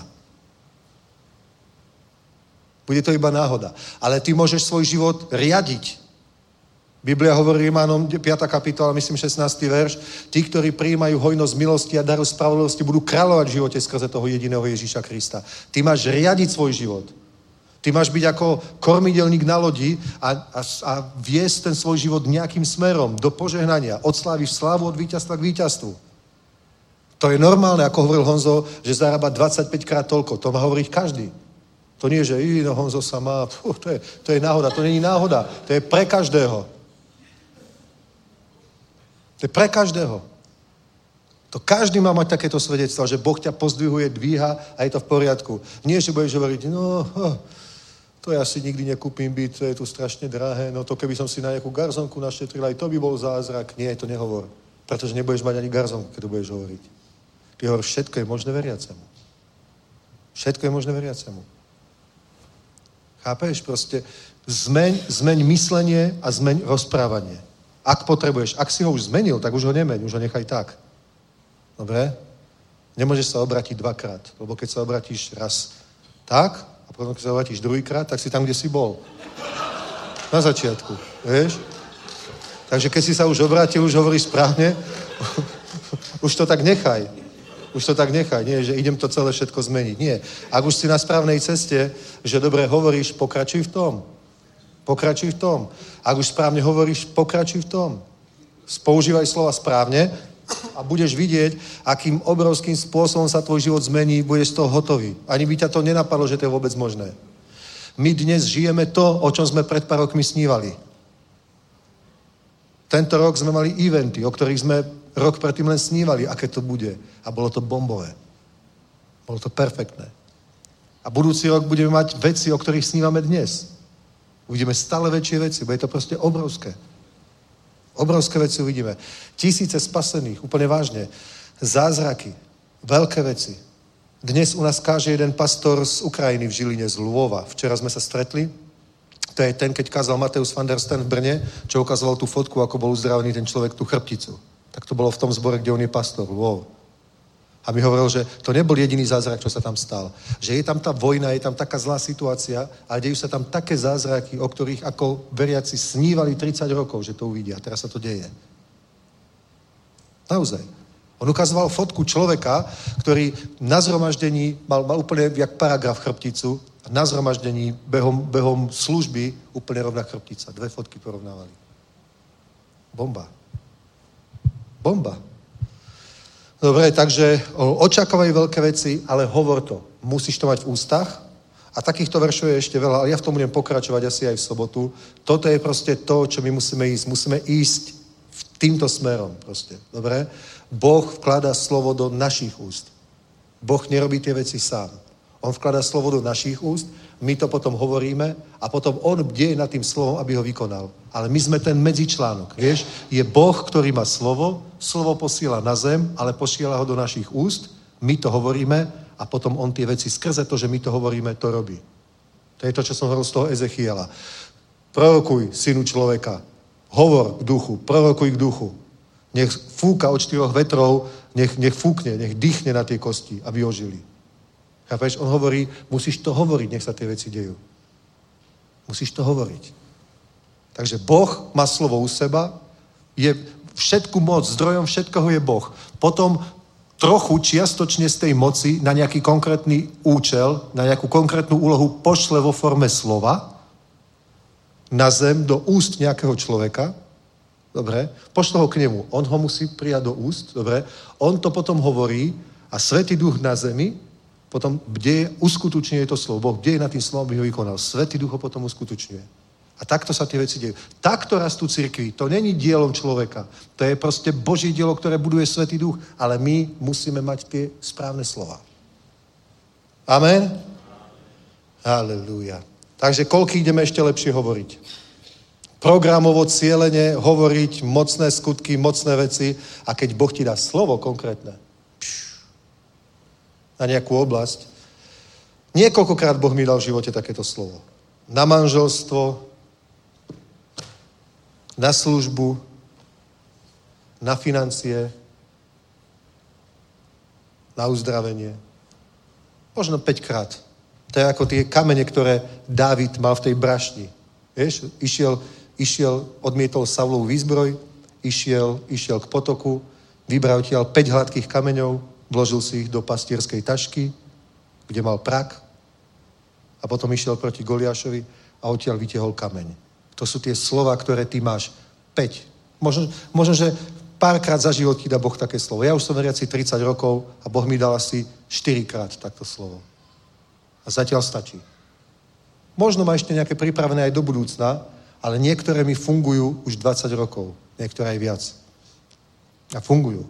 Bude to iba náhoda. Ale ty môžeš svoj život riadiť. Biblia hovorí Rímanom 5. kapitola, myslím 16. verš. Tí, ktorí prijímajú hojnosť milosti a daru spravodlivosti, budú kráľovať v živote skrze toho jediného Ježíša Krista. Ty máš riadiť svoj život. Ty máš byť ako kormidelník na lodi a viesť ten svoj život nejakým smerom do požehnania. Od slávy v slávu, od víťazstva k víťazstvu. To je normálne, ako hovoril Honzo, že zarába 25 krát toľko. To má hovoriť každý. To nie, že Honzo sa má, to je náhoda. To není náhoda. To je pre každého. To je pre každého. To každý má mať takéto svedectvo, že Boh ťa pozdvihuje, dvíha a je to v poriadku. Nie, že budeš hovoriť, to ja si nikdy nekúpim byt, to je tu strašne drahé, no to keby som si na nejakú garzonku našetril, aj to by bol zázrak. Nie, to nehovor. Pretože nebudeš mať ani garzonku, keď to budeš hovoriť. Ty hovor, všetko je možné veriacemu. Všetko je možné veriacemu. Chápeš? Proste zmeň myslenie a zmeň rozprávanie. Ak potrebuješ. Ak si ho už zmenil, tak už ho nemeň, už ho nechaj tak. Dobre? Nemôžeš sa obrátiť dvakrát, lebo keď sa obrátiš raz tak, a potom keď sa obrátiš druhýkrát, tak si tam, kde si bol. Na začiatku, vieš? Takže keď si sa už obrátil, už hovoríš správne, už to tak nechaj. Už to tak nechaj. Nie, že idem to celé všetko zmeniť. Nie. Ak už si na správnej ceste, že dobre hovoríš, pokračuj v tom. Pokračuj v tom. Ak už správne hovoríš, pokračuj v tom. Používaj slova správne a budeš vidieť, akým obrovským spôsobom sa tvoj život zmení, budeš z toho hotový. Ani by ťa to nenapadlo, že to je vôbec možné. My dnes žijeme to, o čom sme pred pár rokmi snívali. Tento rok sme mali eventy, o ktorých sme rok predtým len snívali, aké to bude. A bolo to bombové. Bolo to perfektné. A budúci rok budeme mať veci, o ktorých snívame dnes. Uvidíme stále väčšie veci, bude to proste obrovské. Obrovské veci uvidíme. Tisíce spasených, úplne vážne. Zázraky, veľké veci. Dnes u nás káže jeden pastor z Ukrajiny v Žiline, z Lvova. Včera sme sa stretli. To je ten, keď kázal Mateus van der Steen v Brne, čo ukazoval tú fotku, ako bol uzdravený ten človek, tú chrbticu. Tak to bolo v tom zbore, kde on je pastor. Lvov. A mi hovoril, že to nebol jediný zázrak, čo sa tam stal. Že je tam tá vojna, je tam taká zlá situácia a dejú sa tam také zázraky, o ktorých ako veriaci snívali 30 rokov, že to uvidia. Teraz sa to deje. Naozaj. On ukazoval fotku človeka, ktorý na zhromaždení mal úplne jak paragraf chrbticu a na zhromaždení behom služby úplne rovná chrbtica. 2 fotky porovnávali. Bomba. Bomba. Dobre, takže očakávaj veľké veci, ale hovor to. Musíš to mať v ústach a takýchto veršov je ešte veľa, ale ja v tom budem pokračovať asi aj v sobotu. Toto je proste to, čo my musíme ísť. Musíme ísť týmto smerom proste. Dobre? Boh vkladá slovo do našich úst. Boh nerobí tie veci sám. On vkladá slovo do našich úst, my to potom hovoríme a potom on bdie nad tým slovom, aby ho vykonal. Ale my sme ten medzičlánok, vieš? Je Boh, ktorý má slovo posiela na zem, ale posiela ho do našich úst, my to hovoríme a potom on tie veci skrze to, že my to hovoríme, to robí. To je to, čo som hovoril z toho Ezechiela. Prorokuj, synu človeka, hovor k duchu, prorokuj k duchu. Nech fúka od 4 vetrov, nech fúkne, nech dýchne na tie kosti, aby ožili. Chápeš? On hovorí, musíš to hovoriť, nech sa tie veci dejú. Musíš to hovoriť. Takže Boh má slovo u seba, je všetku moc, zdrojom všetkoho je Boh. Potom trochu čiastočne z tej moci na nejaký konkrétny účel, na nejakú konkrétnu úlohu pošle vo forme slova na zem do úst nejakého človeka. Dobre? Pošle ho k nemu. On ho musí prijať do úst. Dobre? On to potom hovorí a Svätý Duch na zemi potom uskutočňuje to slovo. Boh bdeje nad tým slovom, aby ho vykonal. Svätý Duch ho potom uskutočňuje. A takto sa tie veci dejú. Takto rastú cirkvi. To není dielom človeka. To je proste Boží dielo, ktoré buduje Svätý Duch. Ale my musíme mať tie správne slova. Amen? Halelúja. Takže koľko ideme ešte lepšie hovoriť? Programovo, cieľene, hovoriť mocné skutky, mocné veci a keď Boh ti dá slovo konkrétne na nejakú oblasť, niekoľkokrát Boh mi dal v živote takéto slovo. Na manželstvo, na službu, na financie, na uzdravenie. Možno 5-krát. To je ako tie kamene, ktoré Dávid mal v tej brašni. Vieš, išiel, odmietol Saulovú výzbroj, išiel k potoku, vybral tiaľ 5 hladkých kameňov, vložil si ich do pastierskej tašky, kde mal prak a potom išiel proti Goliášovi a odtiaľ vytiahol kameň. To sú tie slova, ktoré ty máš. 5. Možno, že párkrát za život ti dá Boh také slovo. Ja už som veriaci 30 rokov a Boh mi dal asi 4-krát takto slovo. A zatiaľ stačí. Možno má ešte nejaké pripravené aj do budúcna, ale niektoré mi fungujú už 20 rokov. Niektoré aj viac. A fungujú.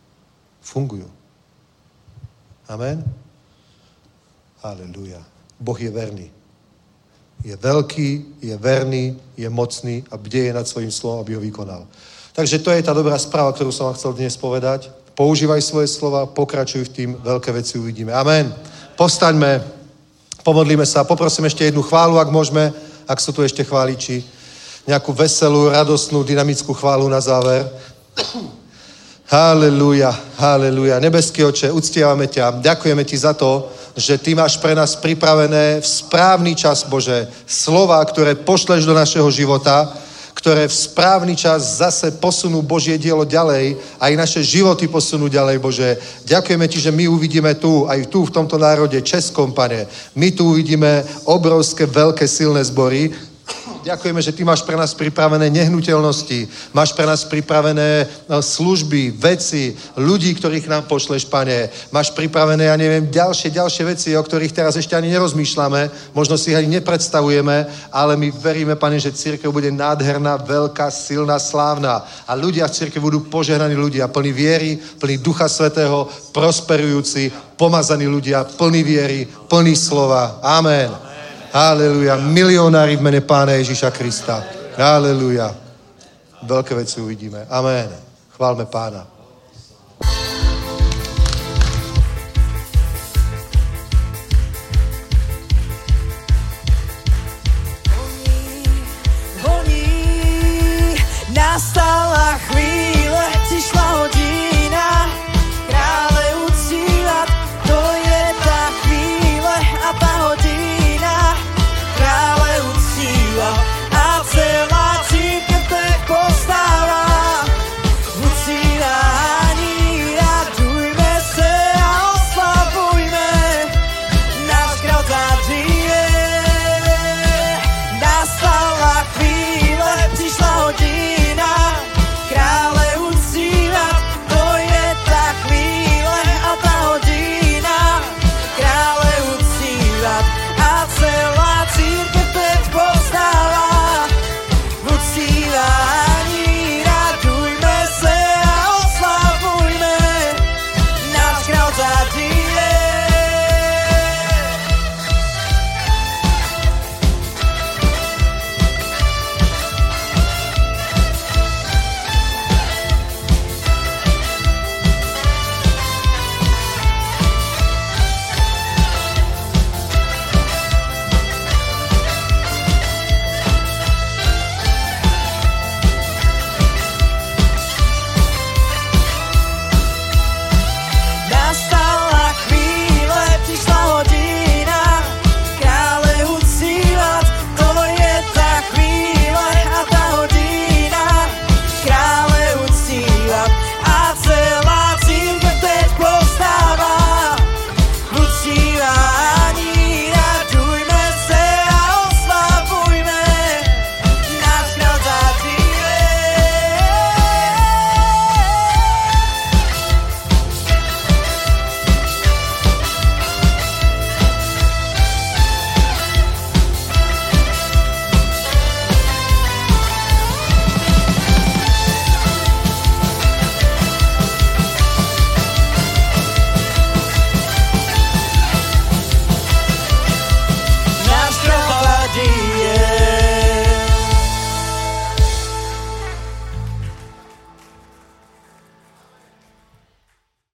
Amen? Halelúja. Boh je verný. Je veľký, je verný, je mocný a bdeje nad svojím slovom, aby ho vykonal. Takže to je tá dobrá správa, ktorú som vám chcel dnes povedať. Používaj svoje slova, pokračuj v tým, veľké veci uvidíme. Amen. Postaňme, pomodlíme sa, poprosím ešte jednu chválu, ak môžeme, ak sú tu ešte chváliči. Nejakú veselú, radostnú, dynamickú chválu na záver. Halelúja, halelúja. Nebeský Oče, uctievame ťa. Ďakujeme ti za to, že ty máš pre nás pripravené v správny čas, Bože, slova, ktoré pošleš do našeho života, ktoré v správny čas zase posunú Božie dielo ďalej, aj naše životy posunú ďalej, Bože. Ďakujeme Ti, že my uvidíme tu, aj tu v tomto národe českom, Pane. My tu uvidíme obrovské, veľké, silné zbory. Ďakujeme, že Ty máš pre nás pripravené nehnuteľnosti, máš pre nás pripravené služby, veci, ľudí, ktorých nám pošleš, Pane. Máš pripravené, ja neviem, ďalšie veci, o ktorých teraz ešte ani nerozmýšľame, možno si ich ani nepredstavujeme, ale my veríme, Pane, že cirkev bude nádherná, veľká, silná, slávna a ľudia v cirkevi budú požehnaní ľudia, plní viery, plní Ducha Svätého, prosperujúci, pomazaní ľudia, plní viery, plní slova. Amen. Haleluja. Milionári v mene Pána Ježíša Krista. Haleluja. Veľké veci uvidíme. Amen. Chválme Pána. Voní, nastala chvíľa.